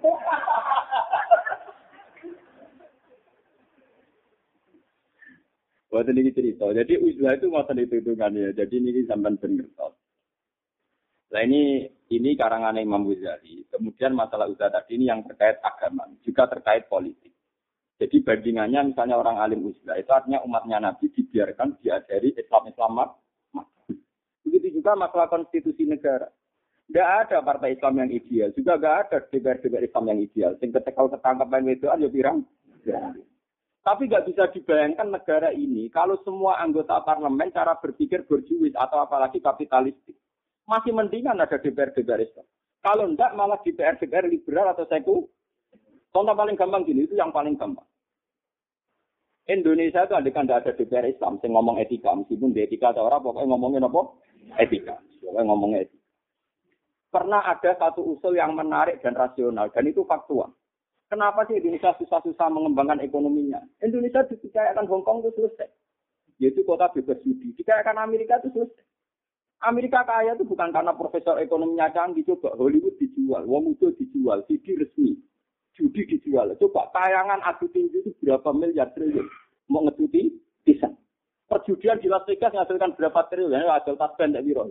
Buat ini cerita. Jadi uzlah itu masa hitungannya. Jadi ini sampai pengertian. Nah ini karangan Imam Ghazali. Kemudian masalah uzlah tadi ini yang terkait agama, juga terkait politik. Jadi bandingannya misalnya orang alim uzlah itu artinya umatnya Nabi dibiarkan diajari Islam. Begitu juga masalah konstitusi negara. Tidak ada partai Islam yang ideal. Juga tidak ada DPR Islam yang ideal. Sehingga kalau ketangkap yang itu ya pirang. Tapi tidak bisa dibayangkan negara ini kalau semua anggota parlemen cara berpikir borjuis atau apalagi kapitalistik. Masih mendingan ada DPR Islam. Kalau tidak malah DPR liberal atau sekuler. Contoh paling gampang gini, itu yang paling gampang. Indonesia itu andaikan tidak ada DPR Islam, yang ngomong etika, meskipun di etika ada orang, pokoknya ngomongin apa? Etika. Pokoknya ngomongin etika. Pernah ada satu usul yang menarik dan rasional, dan itu faktual. Kenapa sih Indonesia susah-susah mengembangkan ekonominya? Indonesia dikayakan Hongkong itu selesai. Yaitu kota bebas judi. Dikayakan Amerika itu selesai. Amerika kaya itu bukan karena profesor ekonominya canggih, coba Hollywood dijual, wong itu dijual, CD resmi. Judi dijual. Coba tayangan adu tinju itu berapa miliar triliun. Mau ngejuti, bisa. Perjudian di Las Vegas menghasilkan berapa triliun. Ya, hasil tas pendek biro.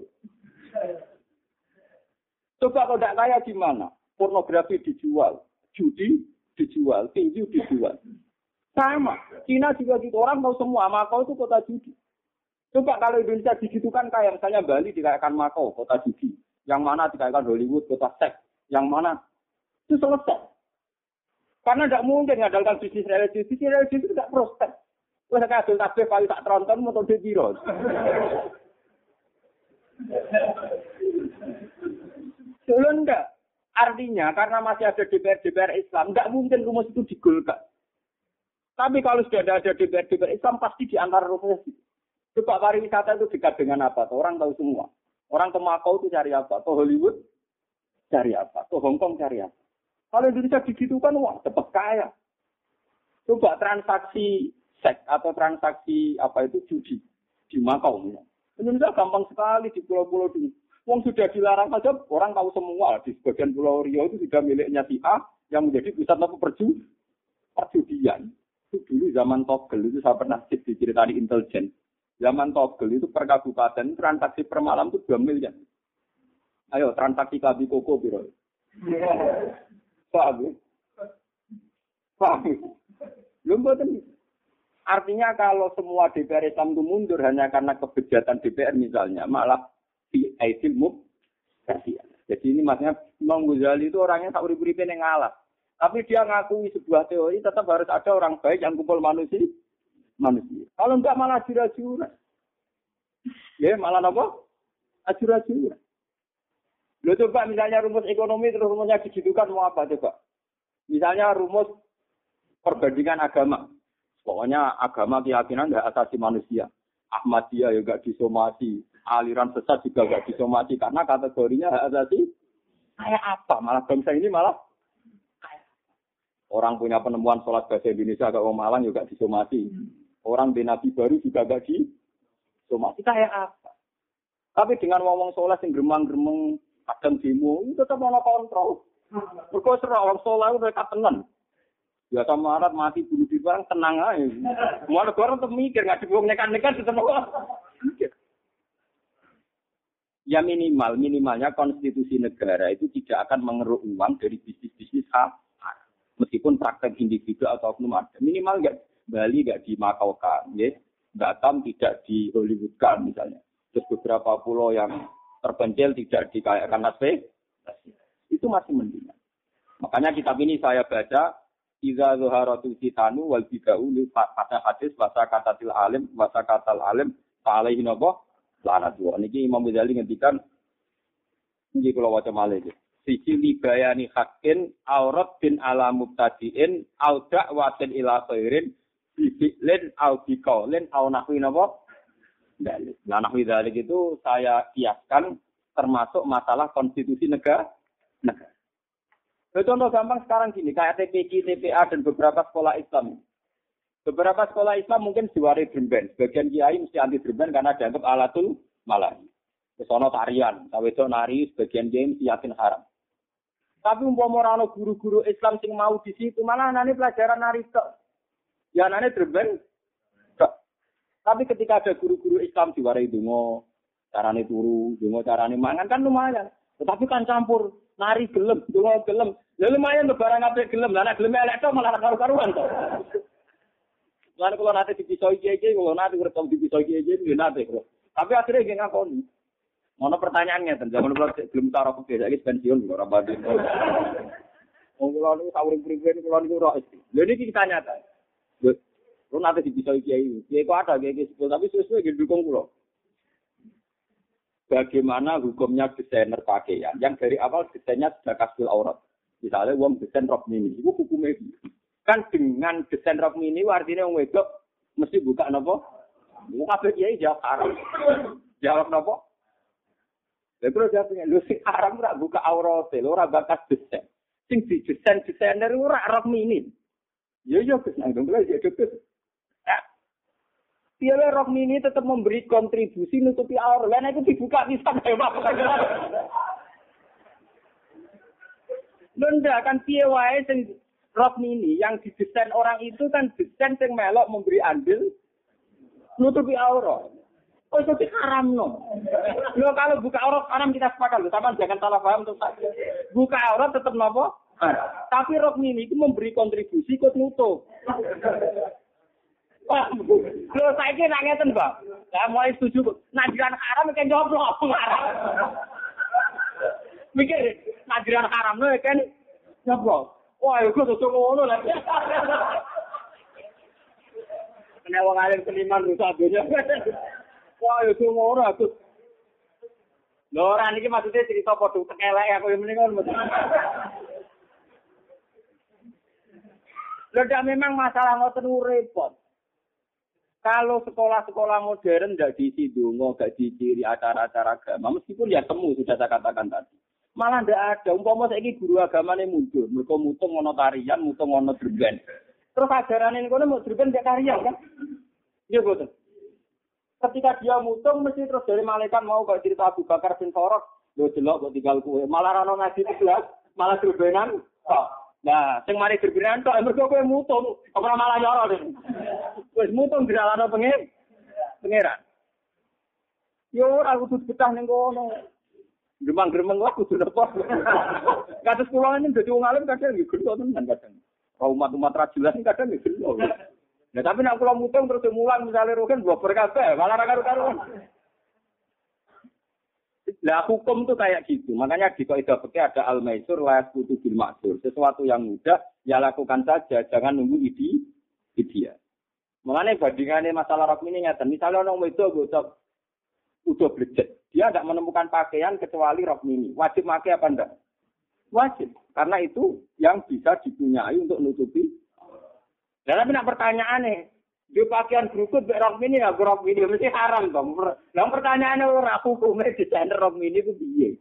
Coba kalau tidak kaya gimana? Pornografi dijual. Judi dijual. Tinju dijual. Sama. Cina juga gitu. Orang tahu semua. Makau itu kota judi. Coba kalau Indonesia digitukan kayak misalnya Bali dikayakan Makau, kota judi. Yang mana dikayakan Hollywood, kota seks. Yang mana? Itu selesai. Karena tidak mungkin mengandalkan bisnis religius itu tidak prospek. Wes kayak hasil tasbih paling tak tronton metode piro. Dulu enggak. Artinya karena masih ada DPR Islam, enggak mungkin rumus itu digolkan. Tapi kalau sudah ada DPR Islam pasti di antara rumus itu. Coba pariwisata itu dekat dengan apa? Orang tahu semua. Orang ke Makau itu cari apa? Ke Hollywood cari apa? Ke Hong Kong cari apa? Kalau Indonesia digitukan, wah, cepat kaya. Coba transaksi seks atau transaksi apa itu judi di Makau. Indonesia gampang sekali di pulau-pulau ini. Wong sudah dilarang saja, orang tahu semua. Di sebagian Pulau Riau itu sudah miliknya si A yang menjadi pusat apa perjudian. Itu dulu zaman Togel itu saya pernah diceritani intelijen. Zaman Togel itu per kabupaten transaksi per malam itu 2 miliar. Ayo transaksi kabi koko biro. Paham? Artinya kalau semua DPR Islam itu mundur hanya karena kebejatan DPR misalnya, malah di aidil kasihan. Jadi ini maksudnya Imam Ghazali itu orangnya tak urip-uripe ning ngalah. Tapi dia ngakui sebuah teori tetap harus ada orang baik yang kumpul manusia. Kalau enggak malah ajur-ajuran. Ya malah apa? Ajur-ajuran. Lo coba misalnya rumus ekonomi terus rumusnya digitukan mau apa coba? Misalnya rumus perbandingan agama. Pokoknya agama keyakinan hak asasi manusia. Ahmadiyah juga disomasi, aliran sesat juga gak disomasi karena kategorinya hak asasi. Kayak apa? Malah bangsa ini malah orang punya penemuan sholat bahasa Indonesia agak Malang juga disomasi. Orang di Nabi baru juga gak disomasi. Kayak apa? Tapi dengan ngomong sholat yang geremang-geremeng kadang demo, itu tetap mau kontrol. Berkau serah orang sholat mereka tenang. Biasa marat mati bunuh diri barang tenang aja. Semua negara tetap mikir, nggak dibuang nekan-nekan tetap mikir. Ya minimalnya konstitusi negara itu tidak akan mengeruk uang dari bisnis-bisnis haram. Meskipun praktek individu atau oknum ada. Minimal nggak Bali nggak dimakaukan, ya. Batam tidak di Hollywoodkan misalnya. Terus beberapa pulau yang terpencil tidak dikayakan nasib. Itu masih mendingan. Makanya kitab ini saya baca. Iza zuharatul fitanu wal bid'u li pada hadis bahasa katatil alim bahasa katal alim alaihi nabo lanatu. Niki Imam Ghazali ngendikan niki kula waca malih iki. Siji libayani haqqin aurat bin ala mubtadiin au da'watin ila khairin bi'lin au biqaulin au nahwi nabo dalil. Nah nahwi dalil itu saya kiaskan termasuk masalah konstitusi negara. Contoh gampang sekarang gini, kayak TPQ, TPA, dan beberapa sekolah Islam. Beberapa sekolah Islam mungkin diwari drumben. Sebagian kiai mesti anti drumben karena dianggap alatul malah. Kesono tarian, tawedo nari, sebagian kiai mesti yakin haram. Tapi umpama ana guru-guru Islam sing mau di situ, malah anane pelajaran nari tok. Ya anane drumben tok. Tapi ketika ada guru-guru Islam diwari donga, carane turu, donga carane mangan kan lumayan. Tetapi kan campur nari gelem, donga gelem. Lha lumayan to barang apik gelem, lah nek gelem elek tok malah karu-karuan to. Lan kula nate dipisoi iki, kula nate rekam dipisoi iki nggih nate, Bro. Tapi akhirnya nggih ngakoni. Ono pertanyaan ngeten, zaman kula belum taruh ke saiki pensiun kula ora badhe. Wong kula niku sawring-sawring kula niku ora iki. Lha niki kita nyata. Kula nate dipisoi kiai. Kiai kok ada kiai sepuluh tapi sesuai nggih dukung kula. Bagaimana hukumnya desainer pakaian yang dari awal desainnya sudah kasbil aurat. Misalnya wong desain rok mini, itu hukumnya kan dengan desain rok mini artinya wong wedok mesti buka napa? Buka kiai jawab haram. Jawab napa? Lha terus jawab lho sing haram ora buka aurat, lho ora bakas desain. Sing desainer ora rok mini. Ya Gus nang dongkel ya Gus. Piala rok mini tetap memberi kontribusi nutupi aurat. Lah itu dibuka bisa hebat. Lenda kan piye wae sing rok mini yang didesain orang itu kan desain sing melok memberi andil nutupi aurat. Oh itu haram no. Lo kalau buka aurat haram kita sepakat loh. Sama jangan salah paham untuk saya. Buka aurat tetap nopo. Tapi rok mini itu memberi kontribusi ikut nutup. Wah, lo saiki nak ngeten, Mbak. Lah mulai setuju. Najiran haram kan jawab lo haram. Mikir najiran haram lo kan jawab. Wah, iku tuh ngono lah. Nek wong alim seniman rusak dunya. Wah, iku ngono aku. Lho ora niki maksudnya cerita padha tekelek aku yang mendingan. Lho memang masalah ngoten repot. Kalau sekolah-sekolah modern nggak diisi dongo, nggak diciri acara-acara agama, meskipun ya temu sudah saya katakan tadi. Malah nggak ada. Umpama saiki guru agamane mundur, mereka mutung ngono tarian, mutung ngono drben. Terus ajaran ini kono mau drben nggak tarian kan? Iya betul. Ketika dia mutung, mesti terus dari malaikat mau kayak cerita Abu Bakar bin Farok, lo jelok kok tinggal kue. Malah rano ngaji 11, malah drbenan. Nah, sing mari drbenan tok, mergo kowe mutung, ora malah nyoro deh. Wis mutung diralano pangeran. Yo ora kudu betah ning kono. Gremang-gremeng kok kudu lepas. Kados kula ini dadi wong alim kadang nggih gelo tenan kadang. Umat-umat ra jelas kadang nggih gelo. Nah tapi nek kula mutung terus mulang misale rogen bober kabeh, malah ra karo-karuan. Lah hukum tuh kayak gitu. Makanya di kaidah fikih ada al-maisur la yasqutu bil ma'sur. Sesuatu yang mudah ya lakukan saja, jangan nunggu ideal. Mengenai bandingannya masalah rok ini ngeten. Misalnya orang wedok udah blejet. Dia tidak menemukan pakaian kecuali rok mini. Wajib pakai apa enggak? Wajib. Karena itu yang bisa dipunyai untuk nutupi. Dan tapi nak pertanyaannya, di pakaian berukut rok mini ya rok mini mesti haram dong. Nah pertanyaannya ora hukumnya desainer rok mini itu piye?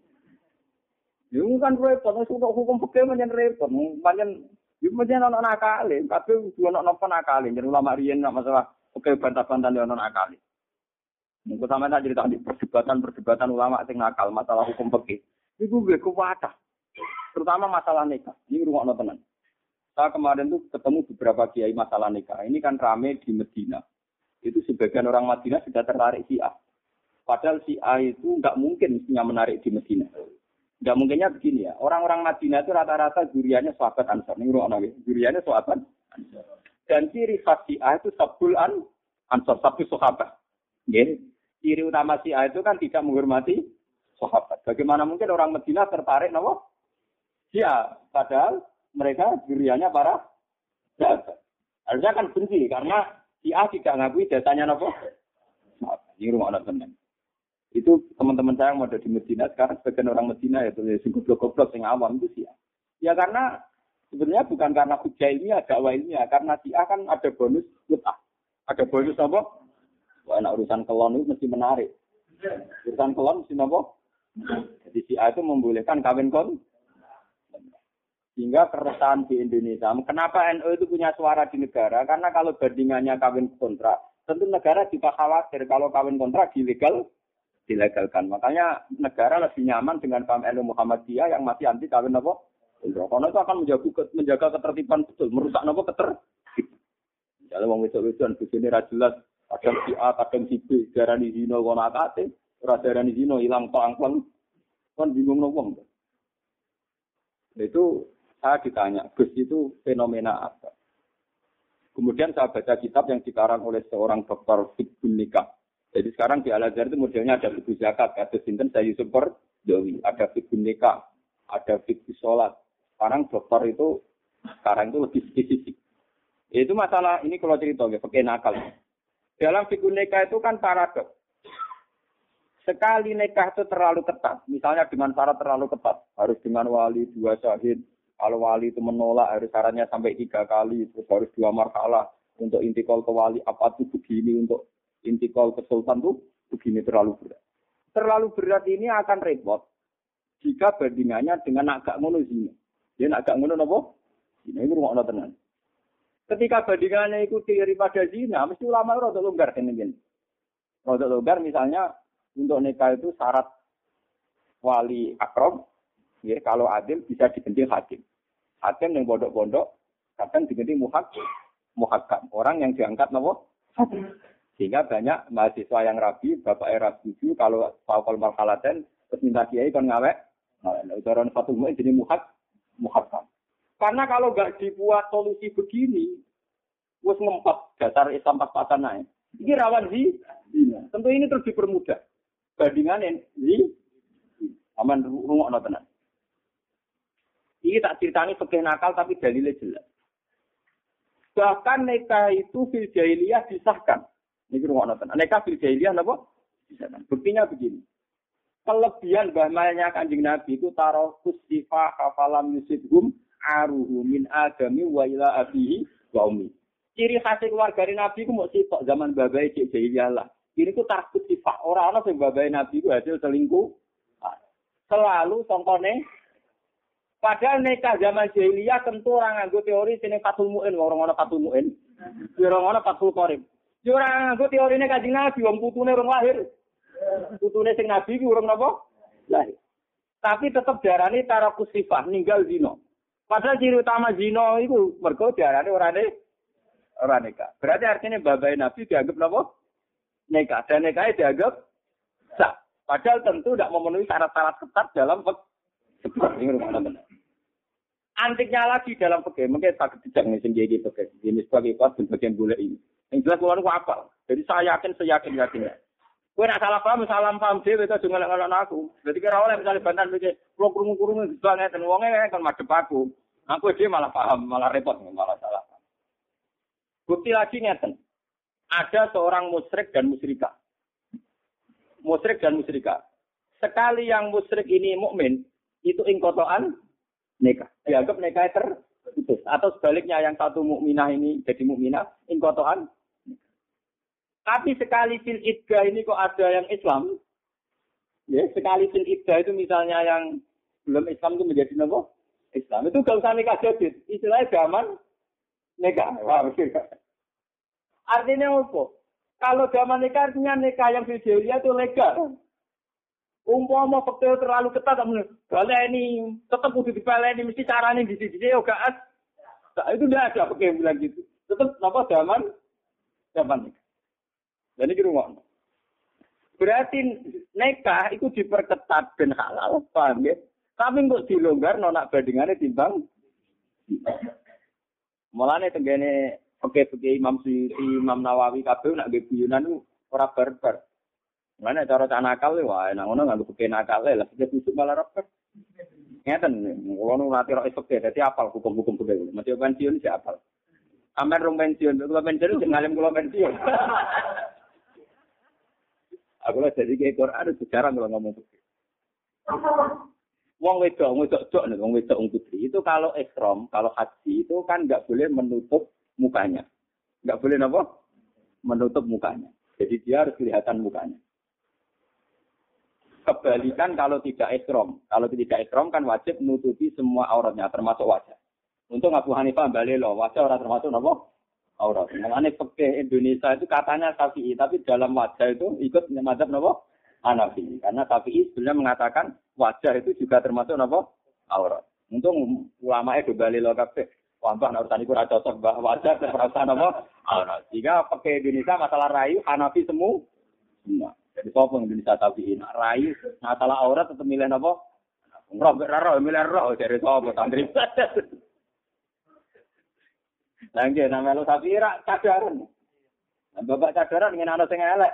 Ya kan repot, hukum fikih menyen repot, menyen ono nakale, kabeh kudu ono napa nakale, jeneng ulama riyen nak masalah fikih bantah-bantahan ono nakale. Mengko sampeyan tak cerita di perdebatan ulama sing nakal masalah hukum fikih. Iku gue kuwatah. Terutama masalah nikah. Ini rungokno tenan. Saya kemarin tuh ketemu beberapa kiai masalah nikah. Ini kan rame di Medina. Itu sebagian orang Madinah sudah tertarik Syiah. Padahal Syiah itu nggak mungkin mestinya menarik di Medina. Nggak mungkinnya begini ya. Orang-orang Madinah itu rata-rata juriannya sahabat Ansar. Ini rungokno juriannya sahabat Ansar. Dan ciri khas Syiah itu sabul Ansar, sabul sahabat. Nggih. Ciri utama Syiah itu kan tidak menghormati sahabat. Bagaimana mungkin orang Madinah tertarik nama Syiah? Padahal mereka juriannya para sahabat. Harusnya kan benci karena Syiah tidak ngakui datanya nama sahabat. Ini rumah anak teman. Itu teman-teman saya yang mau di Madinah sekarang sebagian orang Madinah ya sing goblok-goblok sing awam itu Syiah. Ya karena sebenarnya bukan karena hujah ilmiah, dakwah ilmiah, karena Syiah kan ada bonus mut'ah. Ada bonus apa? Wah, urusan kelon itu mesti menarik. Urusan kelon mesti apa? Jadi Syiah itu membolehkan kawin kon. Sehingga keresahan di Indonesia. Kenapa NU itu punya suara di negara? Karena kalau bandingannya kawin kontrak, tentu negara juga khawatir kalau kawin kontrak dilegalkan. Makanya negara lebih nyaman dengan paham NU Muhammadiyah yang masih anti kawin apa? Kontrak. Karena itu akan menjaga ketertiban betul, merusak apa ketertiban. Kalau wong wedok-wedokan bojone ra jelas kadang si A, kadang si B, darani zina kono akate, ora darani zina ilang pang-pang. Kan bingung wong. Itu saya ditanya, Gus itu fenomena apa? Kemudian saya baca kitab yang dikarang oleh seorang dokter fikih nikah. Jadi sekarang di Al-Azhar itu modelnya ada fikih zakat, ada sinten saya Yusuf Perdawi, ada fikih nikah, ada fikih sholat. Sekarang dokter itu sekarang itu lebih spesifik. Itu masalah ini kalau cerita ya, fikih nakal. Dalam fikih nikah itu kan paradoks. Sekali nikah itu terlalu ketat, misalnya dengan syarat terlalu ketat, harus dengan wali 2 syahid. Kalau wali itu menolak, harus syaratnya sampai 3 kali, terus harus 2 marhalah. Untuk intikal ke wali, apa itu begini, untuk intikal ke sultan itu begini, terlalu berat. Terlalu berat ini akan repot jika bandingannya dengan agak ngono zina. Dia agak ngono apa? Zina itu rumah tenan. Ketika bandingannya itu daripada zina, mesti ulama itu rada longgar kan ini. Rada longgar misalnya untuk nikah itu syarat wali akrom, ya kalau adil bisa diganti hakim. Hakim yang pondok-pondok kadang diganti muhakam. Orang yang diangkat nopo hakim. Sehingga banyak mahasiswa yang rabi, bapak era setuju kalau fakol marhalaten terus minta kiai kan ngawek. Nah, ucapan satu mu'in jadi muhakam. Karena kalau nggak dibuat solusi begini, wes ngempet dasar Islam pas-pasan naik. Ini rawan zina. Tentu ini terus dipermudah. Bandingannya aman rungokno tenan. Ini tak ceritani fikih nakal tapi dalilnya jelas. Bahkan nikah itu fil jahiliyah disahkan. Ini rungokno tenan. Nikah fil jahiliyah napa? Disahkan. Buktinya begini. Kelebihan bahmanya Kanjeng Nabi itu tarokus sifah hafalam yusidhum aruhu min adami wa ila abihi wa ummi. Ciri khas keluarga Nabi itu mau sitok zaman babai cek jahiliyah lah. Ini ku takut sifat orang sing babai Nabi ku hasil selingkuh. Selalu contohnya padahal nikah zaman jahiliyah tentu orang nganggo teori sini fatul mu'in, orang-orang fatul mu'in. Orang-orang fatul qarib. Yo orang nganggo teorine Kanjeng Nabi wong putune urung lahir. Putune sing Nabi ku urung napa? Lahir. Tapi tetap diarani tarakus sifah ninggal zina. Padahal ciri utama zina iku mergo diarani orang nikah. Berarti artinya babai Nabi dianggap napa? Nikah. Dan nikahnya dianggap sah. Padahal tentu tidak memenuhi syarat-syarat ketat dalam ini rumah benar. Antiknya lagi dalam fikih, mungkin tak tidak nih sendiri fikih. Ini sebagai kuat dan bagian boleh ini. Yang jelas keluar apa? Jadi saya seyakinnya. Kue nak salah paham dia itu juga ngelak aku. Jadi kira oleh misalnya bantan pikir, kalau kurung banget dan uangnya kan madep aku. Aku dia malah paham, malah repot, malah salah. Bukti lagi ngeten. Ada seorang musyrik dan musyrikah. Musyrik dan musyrikah. sekali yang musyrik ini mukmin, itu ingkotoan nikah. Dianggap nikah terputus. Atau sebaliknya yang satu mukminah ini jadi mukminah, ingkotoan. Tapi sekali fil iddah ini kok ada yang Islam, ya sekali fil iddah itu misalnya yang belum Islam itu menjadi apa? Islam itu gak usah nikah jadid, istilahnya zaman nikah. Wah, artinya apa? Kalau zaman nikah artinya nikah yang fil jahiliyah itu legal. Umpama faktor terlalu ketat, baleni tetap kudu dipeleni mesti carane di sini yo gak. Itu tidak ada pakai bilang gitu. Tetap apa zaman nikah. Dan ini rumah. Berarti nikah itu diperketat dan halal, paham ya? Tapi kok dilonggar nonak bandingannya timbang. Mulane tenggene peke-peke Imam Suyuti, Imam Nawawi kabeh nak nggih guyonan itu ora barbar. Mulane cara nakal wae nang ngono nganggo peke nakal lah sing busuk malah rapet. Ngeten, kula nu nate ro esuk dadi apal hukum-hukum budaya. Mesti pensiun sik apal. Sampeyan rong pensiun, kula pensiun sing ngalim kula pensiun. Aku lah jadi kayak Quran itu jarang kalau ngomong putri. Wong wedok nih, wong wedok putri itu kalau ihram, kalau haji itu kan nggak boleh menutup mukanya, nggak boleh apa? Menutup mukanya. Jadi dia harus kelihatan mukanya. Kebalikan kalau tidak ihram kan wajib menutupi semua auratnya termasuk wajah. Untung Abu Hanifah balik loh, wajah orang termasuk apa? Aurat. Mengenai fikih Indonesia itu katanya Syafi'i, tapi dalam wajah itu ikut mazhab napa? Hanafi. Karena Syafi'i sebenarnya mengatakan wajah itu juga termasuk napa? Aurat. Untung ulama itu bali lo kabeh. Wah, mbah urusan iku ora cocok, mbah wajah terasa napa? Aurat. Jika fikih Indonesia masalah rayu Hanafi semua. Jadi sapa Indonesia Syafi'i nak rayu masalah aurat tetep milih napa? Roh, milih roh dari sapa santri. Lagi nama lo sapi rak cadaran. Bapak cadaran ingin anak sing elek.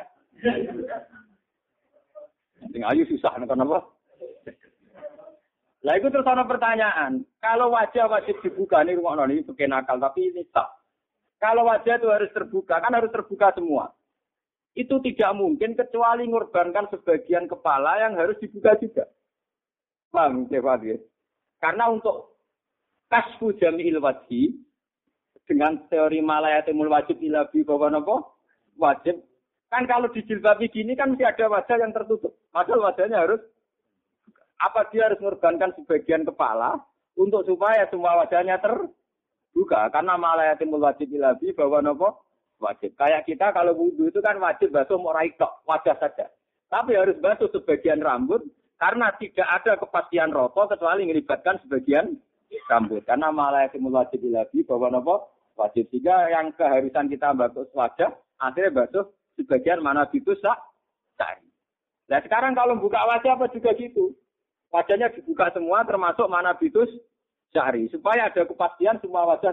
Sing ayu susah kenapa? Lah itu terus ana pertanyaan. Kalau wajah wajib dibuka nih rumah ini pakai nakal tapi ini tak. Kalau wajah itu harus terbuka, kan harus terbuka semua. Itu tidak mungkin kecuali mengorbankan sebagian kepala yang harus dibuka juga. Paham, ya? Karena untuk kasfu jami'il wajhi dengan teori malayatimul wajib ilabi bahwa apa? Wajib. Kan kalau dijilbabi gini kan mesti ada wajah yang tertutup. Padahal wajahnya harus, apa dia harus mengorbankan sebagian kepala untuk supaya semua wajahnya terbuka. Karena malayatimul wajib ilabi bahwa apa? Wajib. Kayak kita kalau wudu itu kan wajib basuh murai tok, wajah saja. Tapi harus basuh sebagian rambut karena tidak ada kepastian rokok kecuali melibatkan sebagian rambut. Karena malayatimul wajib ilabi bahwa apa? Wajib. Sehingga yang keharusan kita basuh wajah, akhirnya basuh sebagian mana itu cari. Nah sekarang kalau buka wajah apa juga gitu. Wajahnya dibuka semua termasuk mana bitus cari. Supaya ada kepastian semua wajah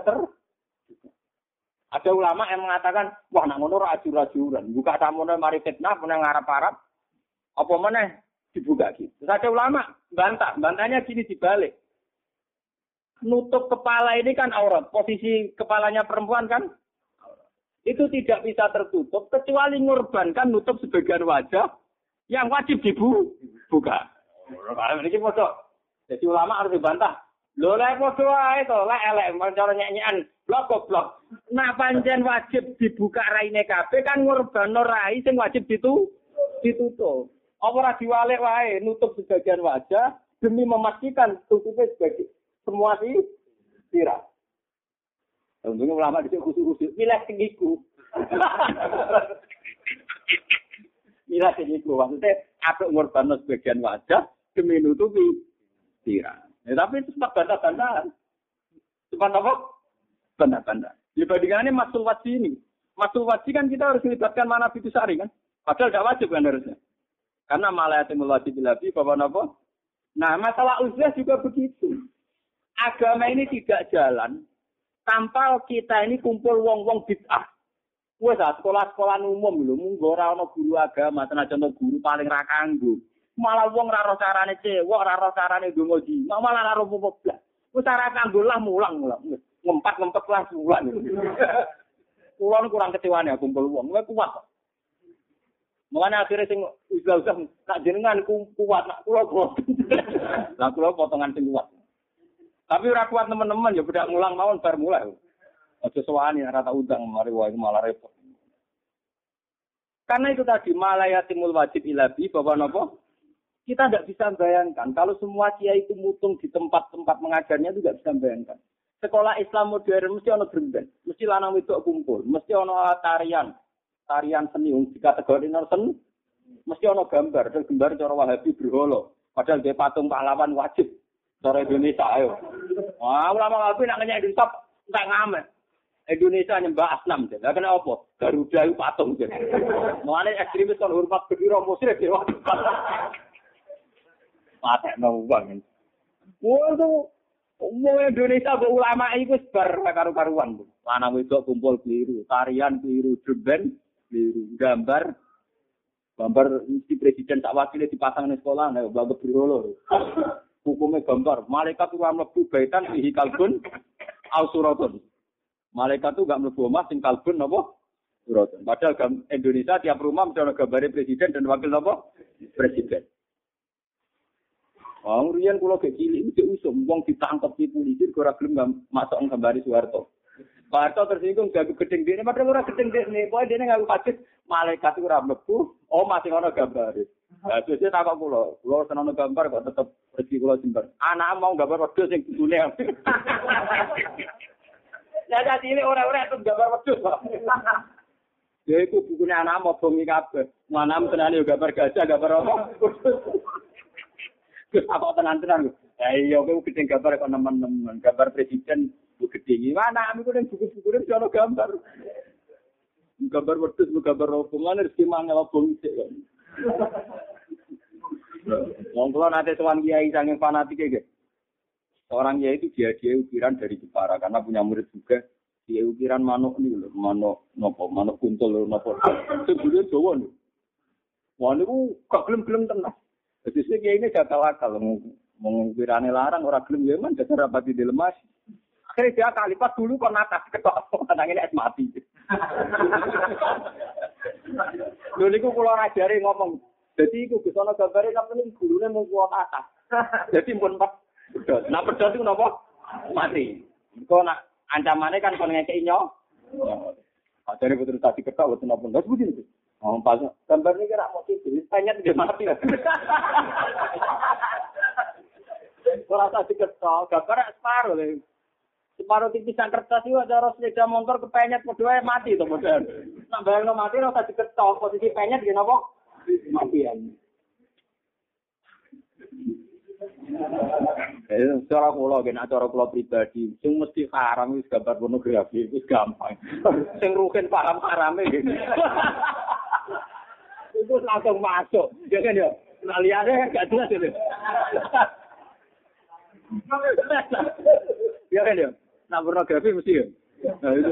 Ada ulama yang mengatakan, wah nak ngono rajur-rajuran. Buka tamunya mari fitnah, punya ngarap-harap. Apa mana dibuka gitu. Terus ada ulama bantahnya gini dibalik. Nutup kepala ini kan aurat. Posisi kepalanya perempuan kan aurat. Itu tidak bisa tertutup kecuali mengorbankan nutup sebagian wajah yang wajib dibuka. Ini foto. Jadi ulama harus dibantah. Lho lek foto ae to, lek elek cara nyanyian blok. Nah pancen wajib dibuka raine kabeh kan ngorbano rai sing wajib ditutup. Apa ora diwalek wae nutup sebagian wajah demi memastikan tutupnya sebagian semua sih sirah. Untungnya ulama disini khusus-khusus. Milah tinggiku. Milah tinggiku. Maksudnya, ada ngorban sebagian wajah demi nutupi sirah. Ya, tapi itu sempat bantah-bantahan. Sempat apa? Bantah-bantahan. Dibandingannya masul wajib ini. Masul wajib kan kita harus melibatkan mana itu sari kan. Padahal tidak wajib kan harusnya. Karena malayatimul wajib ilabi bahwa apa? Nah, masalah uzlah juga begitu. Agama ini tidak jalan tanpa kita ini kumpul wong-wong bid'ah. Wes sekolah-sekolah umum lho, munggo ora ana guru agama, tenajan guru paling ra kanggo. Malah wong ra ro carane cewek, ra ro carane ndonga di. Malah ra ro apa-apa. Wes ora kanggo lah mulang. Ngempet lah mulang. Kulo kurang kecewane kumpul wong, kuwi kuat. Mulane akhire sing udah nak jenengan kuat, nak kula boten. Lah kula potongan sing kuat. Tapi ora kuat teman-teman ya bedak mulang mawon bar mulai. Aja sowani ora tak undang mari wae malah repot. Karena itu tadi malayatimul wajib ilabi bahwa napa? Kita tidak bisa bayangkan kalau semua kiai itu mutung di tempat-tempat mengajarnya itu tidak bisa bayangkan. Sekolah Islam modern mesti ono dremben, mesti lanang wedok kumpul, mesti ono tarian seni dikategorikan seni, mesti ono gambar, dan gambar cara Wahabi berhala. Padahal dia patung pahlawan wajib cara Indonesia ayo. Wah, ulama Wahabi nak nanya Indonesia enggak ngamet. Indonesia nyembah asnam je. Lah kena apa? Garuda itu patung je. Mulane ekstremis kon hormat bendera musyrik ya. Mate no wong. Waduh, Indonesia go ulama iku bar karu-karuan. Lanang wedok kumpul keliru, tarian keliru, dreben keliru, gambar mesti presiden sak wakile dipasang di sekolah nek bagus berolo. Hukumnya gambar, malaikat itu mlebu baitan fihi kalbun au suratun. Malaikat itu gak mlebu omah sing kalbun napa? Suratun. Padahal Indonesia tiap rumah mesti ana gambare presiden dan wakil napa? Presiden. Wong riyen kula gek cilik iki usum wong ditangkep di polisi ora gelem masuk gambare Soeharto. Soeharto tersinggung gagu gedeng dene padahal ora gedeng dene, pokoke dene ngaku kaget malaikat ora mlebu, masih ana gambare. Lah terus takok kula seneng gambar kok tetep rezeki kula jembar. Anak mau gambar wedhus sing kudune. Lah dadi ini ora-ora itu gambar wedhus. Ya iku bukune anak mau bengi kabeh. Manam tenane gambar gajah, gambar apa? Apa tenan-tenan. Iya kowe gedeng gambar kok nemen-nemen. Gambar presiden bu gedeng. Mana amiku ning buku-bukune ono gambar. Gambar wedhus, gambar opo. Mane rezeki mangel opo sik kok. Wong kula nate sowan kiai saking fanatike nggih. Orang kiai itu dia ukiran dari Jepara karena punya murid juga. Dia ukiran manuk nih lho, manuk kuntul lho napa. Sebule Jawa lho. Wah niku gak gelem-gelem tenan. Jadi sih kiai ini gak akal mengukirane larang ora gelem ya men dasar rapati dilemas. Akhirnya dia kalipat dulu kok natas ketok nangine es mati. Lho niku kula ngajari ngomong. Jadi iku Gus ana gambare sampeyan gurune mung kuat atas. Jadi pun pedhot. Nah pedhot iku napa? Mati. Engko nak ancamane kan kon ngekeki nyo. Ajare putus tadi ketok boten napa. Terus begini. Oh, pas gambar ini kira mau tidur, tanya dia mati lah. Kalau rasa diketok, gambar separuh leh. Separuh tipisan kertas itu ada orang sepeda motor kepenyet, berdua mati tuh modal. Nak bayang mati, rasa diketok, posisi penyet gini apa? Matian. Cara kula gen acara kula pribadi, sing mesti haram wis gambar pornografi wis gampang. Sing rugen paham harame gitu. Itu langsung masuk, ya kan ya? Nah lihatnya gak jelas itu. Ya kan ya? Nah pornografi mesti ya? Nah itu.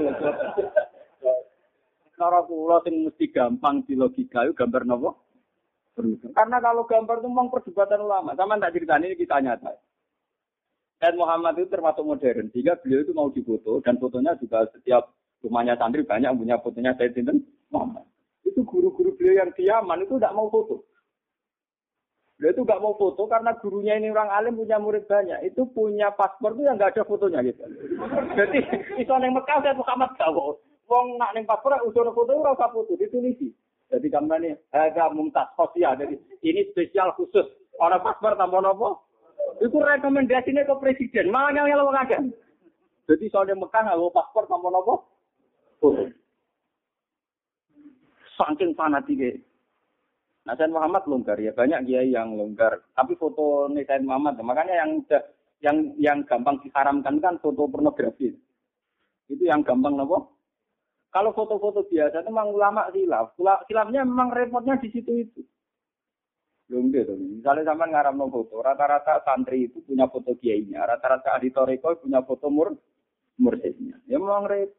Cara kula sing mesti gampang di logika itu gambar nopo? Karena kalau gambar itu memang perdebatan ulama. Sama tak ceritanya ini kita nyata. Said Muhammad itu termasuk modern. Sehingga beliau itu mau difoto. Dan fotonya juga setiap rumahnya santri banyak punya fotonya Said Muhammad. Itu guru-guru beliau yang di Yaman itu tidak mau foto. Beliau itu tidak mau foto karena gurunya ini orang alim punya murid banyak. Itu punya paspor itu yang nggak ada fotonya gitu. Jadi itu yang Mekah Said Muhammad gawo. Wong nak ning paspor usul foto ora usah foto ditulisi. Jadi gambarnya agak mumtaz sosial. Jadi ini spesial khusus. Orang paspor tambah nopo. Itu rekomendasinya ke presiden. Malah yang wong akeh. Jadi soalnya Mekah nggawa paspor tambah nopo. Saking fanatiknya. Nah, Said Muhammad longgar ya, banyak kiai yang longgar. Tapi foto nih Said Muhammad, makanya yang gampang diharamkan kan foto pornografi. Itu yang gampang nopo. Kalau foto-foto biasa itu memang ulama khilaf. Khilafnya memang repotnya di situ itu. Belum gitu. Misalnya sampai ngaramno foto, rata-rata santri itu punya foto kiainya, rata-rata ahli toreko punya foto mursyidnya. Ya memang repot.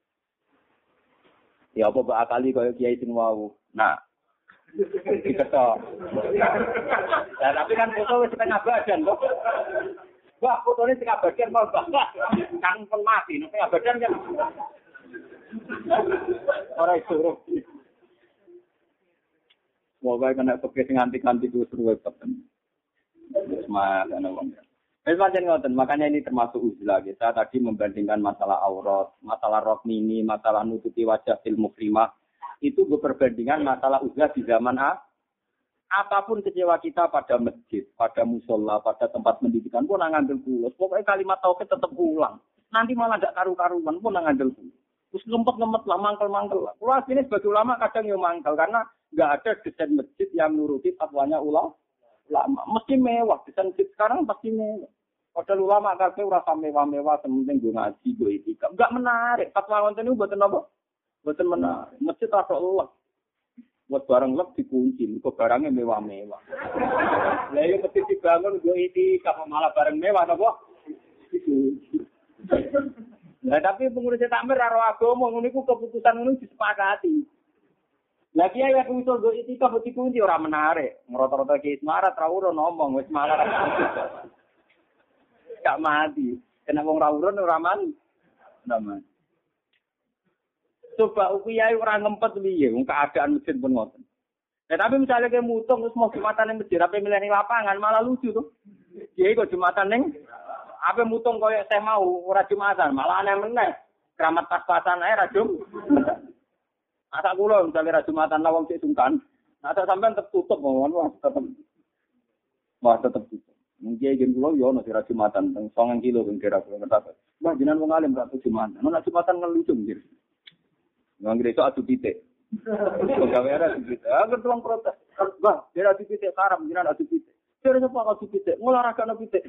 Ya apa bakali kaya kiai sing wau. Nah, diketok. Ya tapi kan foto wis setengah badan kok. Wah, fotone setengah badan mau kan pun mati, setengah badan kan. Ora iso. Pokoke kena pekes nganti-nganti terus ruwet tenan. Semangat ana wong. Pancen ngoten, makanya ini termasuk uzlah kita tadi membandingkan masalah aurat, masalah rok mini, masalah nutupi wajah fil mukrimah. Itu perbandingan masalah uzlah di zaman apapun kecewa kita pada masjid, pada musola, pada tempat pendidikan pun ngambil kulus. Pokoknya kalimat tauhid tetap ulang. Nanti malah tidak karu-karuan pun ngambil kulus. Terus ngempet-ngempet lah, mangkel-mangkel lah. Kalau aslinya sebagai ulama kadang ya mangkel karena nggak ada desain masjid yang nuruti fatwanya ulama. Mesti mewah, desain masjid sekarang pasti mewah. Padahal ulama kabeh ora mewah-mewah, sementing gue ngaji, gue etika. Enggak menarik. Fatwa wonten niku mboten apa? Mboten menarik. Masjid ora Allah. Buat barang lek dikunci, kok barangnya mewah-mewah. Lah yo mesti dibangun go iki kapan malah barang mewah napa? Dikunci. Lah tapi pengurus takmir karo agama ngono iku keputusan ngono disepakati. Lah kiai ya usul go iki kok dikunci ora menarik. Ngrota-rota ki semarat ra urun ngomong wis malah. Gak mati. Kena wong ra urun ora mati. Coba upiyai ora ngempet piye wong keadaan masjid pun ngoten. Tapi misalnya kayak mutung terus mau jumatan ning masjid ape milih ning lapangan malah lucu tuh. Kiai kok jumatan ning ape mutung koyo teh mau ora jumatan malah aneh meneh. Keramat pas-pasan ae ra jum. Asa kula misalnya ra jumatan lah wong sik sungkan. Nah sampean tertutup mawon tetep tutup. Mungkin gen kula yo ono ra jumatan teng 9 kilo ben kira kula ngerti. Mbah jenengan wong alim ra jumatan. Nek jumatan ngelucu nggih. Nggak itu adu titik. Pegawai adu titik. Agar tuang protes. Bah, dia adu titik haram, jangan adu titik. Dia ada apa adu titik? Ngolahraga adu titik.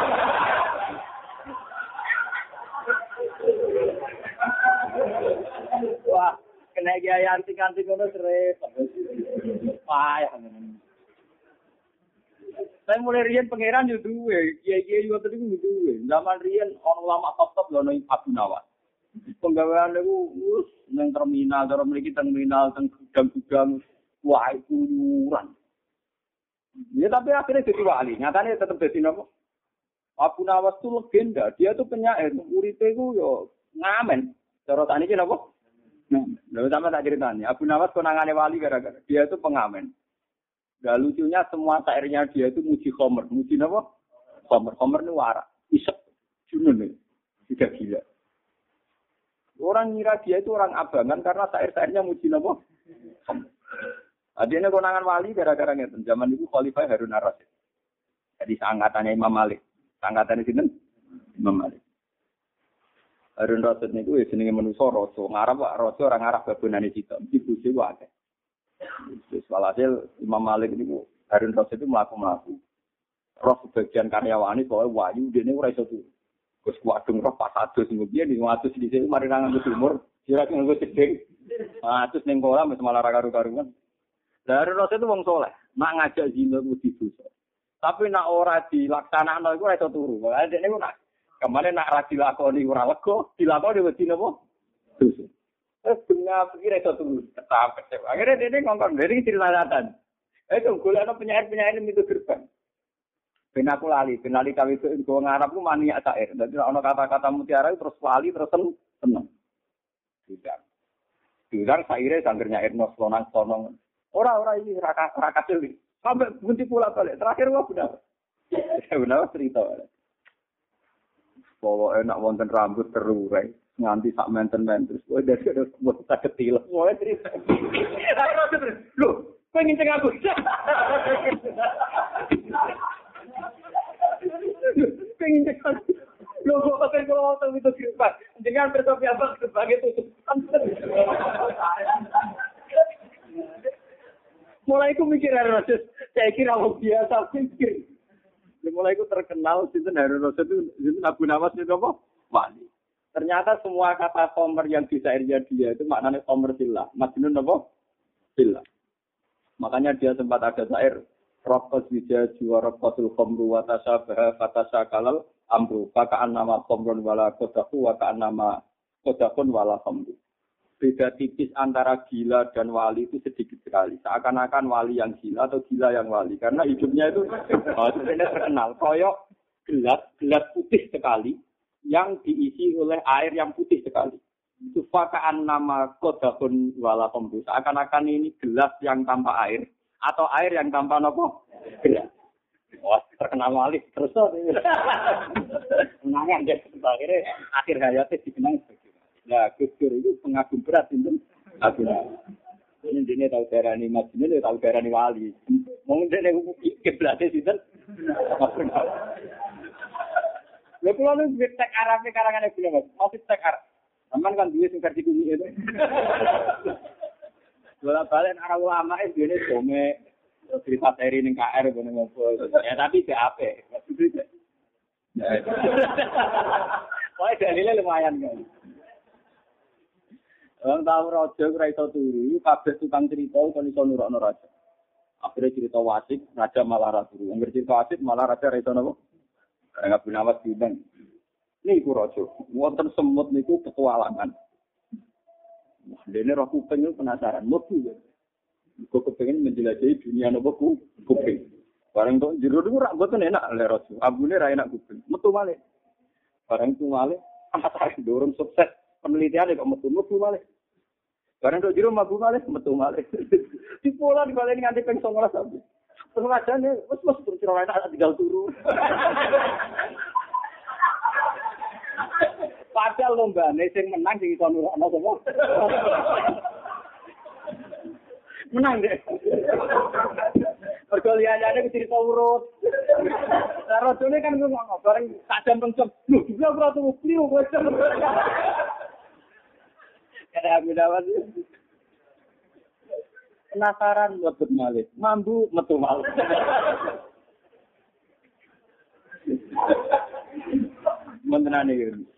Wah, kena gaya antik-antik itu repot. Payah. Saya mulai rian pangeran yo duwe, kiai-kiai yo tadi duwe. Zaman rian orang lama top-top lho nang Abu Nawas. Penggawean niku wis nang terminal, cara mriki terminal teng gudang-gudang wah itu nyuran. Ya tapi akhirnya jadi wali, nyatanya tetap jadi napa? Abu Nawas itu legenda, dia tuh penyair, uripe ku yo ngamen. Cara saniki napa? Nah, lha sampe tak ceritanya, Abu Nawas konangane wali gara-gara dia itu pengamen. Gak lucunya semua syairnya dia itu muji khomer, muji napa? Khomer ini warak, isep, junun nih, tidak gila. Orang ngira dia itu orang abangan karena syair-syairnya muji napa? Adine konangan wali gara-gara ngeten. Zaman itu Khalifah Harun ar-Rasyid. Jadi seangkatannya Imam Malik. Seangkatannya sinten? Imam Malik. Harun ar-Rasyid niku jenenge manusa raja. Ngarep Pak raja orang Arab babonane cita. Mesti buje wae. Terus walhasil Imam Malik niku Harun ar-Rasyid itu mlaku-mlaku. Roh sebagian karyawane soal wayu dene ora iso turu. Terus kuadung roh pas adus ngene iki ngatus di sini mari nang umur kira nganggo cedhek. Atus ning kolam wis malah ra karu-karuan. Lah Harun itu wong saleh, nak ngajak zina kudu dosa. Tapi nak ora dilaksanakno iku ora iso turu. Lah dekne ku nak kemane nak ra dilakoni ora lega, dilakoni wedi napa? Dosa. Terus dunia pikir iso turu, tetap kecewa. Akhirnya dekne ngongkon dari ceritatan. Itu golekno penyair-penyair itu gerbang. Ben aku lali kawit go ngarep ku maniak syair. Dadi ana kata-kata mutiara terus wali terus seneng. Tidak. Tidak saire sangger nyair nosonang-sonong. Ora ini ra kacil. Sampai bunti pula balik. Terakhir wah benar. Benar cerita. Bawa enak wonten rambut terurai nganti sak menten-menten. Wah dari buat tak ketil. Mulai cerita. Lho, pengen ceng aku. Pengen cek lo kok pakai kalau itu sirpat dengan bertopi apa sebagai tutup mulai aku mikir Harun Rasyid saya kira orang biasa pikir mulai aku terkenal sinten Harun Rasyid itu sinten Abu Nawas itu apa wali ternyata semua kata khomer yang di syairnya dia itu maknanya khomer sillah majnun apa sillah makanya dia sempat ada syair Rabbas wija jiwa rabbatul khomru wa tasyabaha fatasyakalal amru faka'an nama khomrun wala kodaku wa ka'an nama kodakun wala khomru. Beda tipis antara gila dan wali itu sedikit sekali. Seakan-akan wali yang gila atau gila yang wali. Karena hidupnya itu sebenarnya terkenal. Koyok gelas putih sekali yang diisi oleh air yang putih sekali. Itu faka'an nama kodakun wala khomru. Seakan-akan ini gelas yang tanpa air. atau air yang tanpa nopo gerak. Wah, terkenal malih terus kenangan deh akhirnya akhir hayatnya dikenang sebagai nah Gus Dur itu pengagum berat itu ini dia tahu darani Madinah dia tahu darani wali mungkin dia kiblatnya sih kan lha kula nu tek arafe karangane kula Mas office tek arep sampean kan duwe sing versi kuwi itu bola balik arah ulama itu ini dome cerita seri ning KR ngene ngopo ya tapi BAP wah dalile lumayan kan orang tahu raja ora iso turu kabeh tukang cerita kon iso nurokno raja akhirnya cerita wasik raja malah ra turu angger cerita wasik malah raja ra iso napa enggak binawas diundang niku raja wonten semut niku petualangan wah dene roh kuping penasaran mlebu kok kepengin menjelajahi dunia nopo kuping. Bareng tok jero niku rak mboten enak le raja. Abune ra enak kuping. Metu malih. Bareng tu malih penasaran dorong sukses penelitian kok metu malih. Bareng tok jero mlebu malih metu malih. Dipola dibaleni nganti ping 19 sampe. Terus rajane wis terus ora enak tinggal turu. Padahal lombane sing menang sing iso nurukno sapa? Menang deh. Mergo liyane cerita urut. Lah rojone kan ngono bareng tak jam pencet. Lho, dia ora turu kliu kowe. Kada gunawan. Penasaran mlebet malih. Mambu metu malih. Mentenane iki.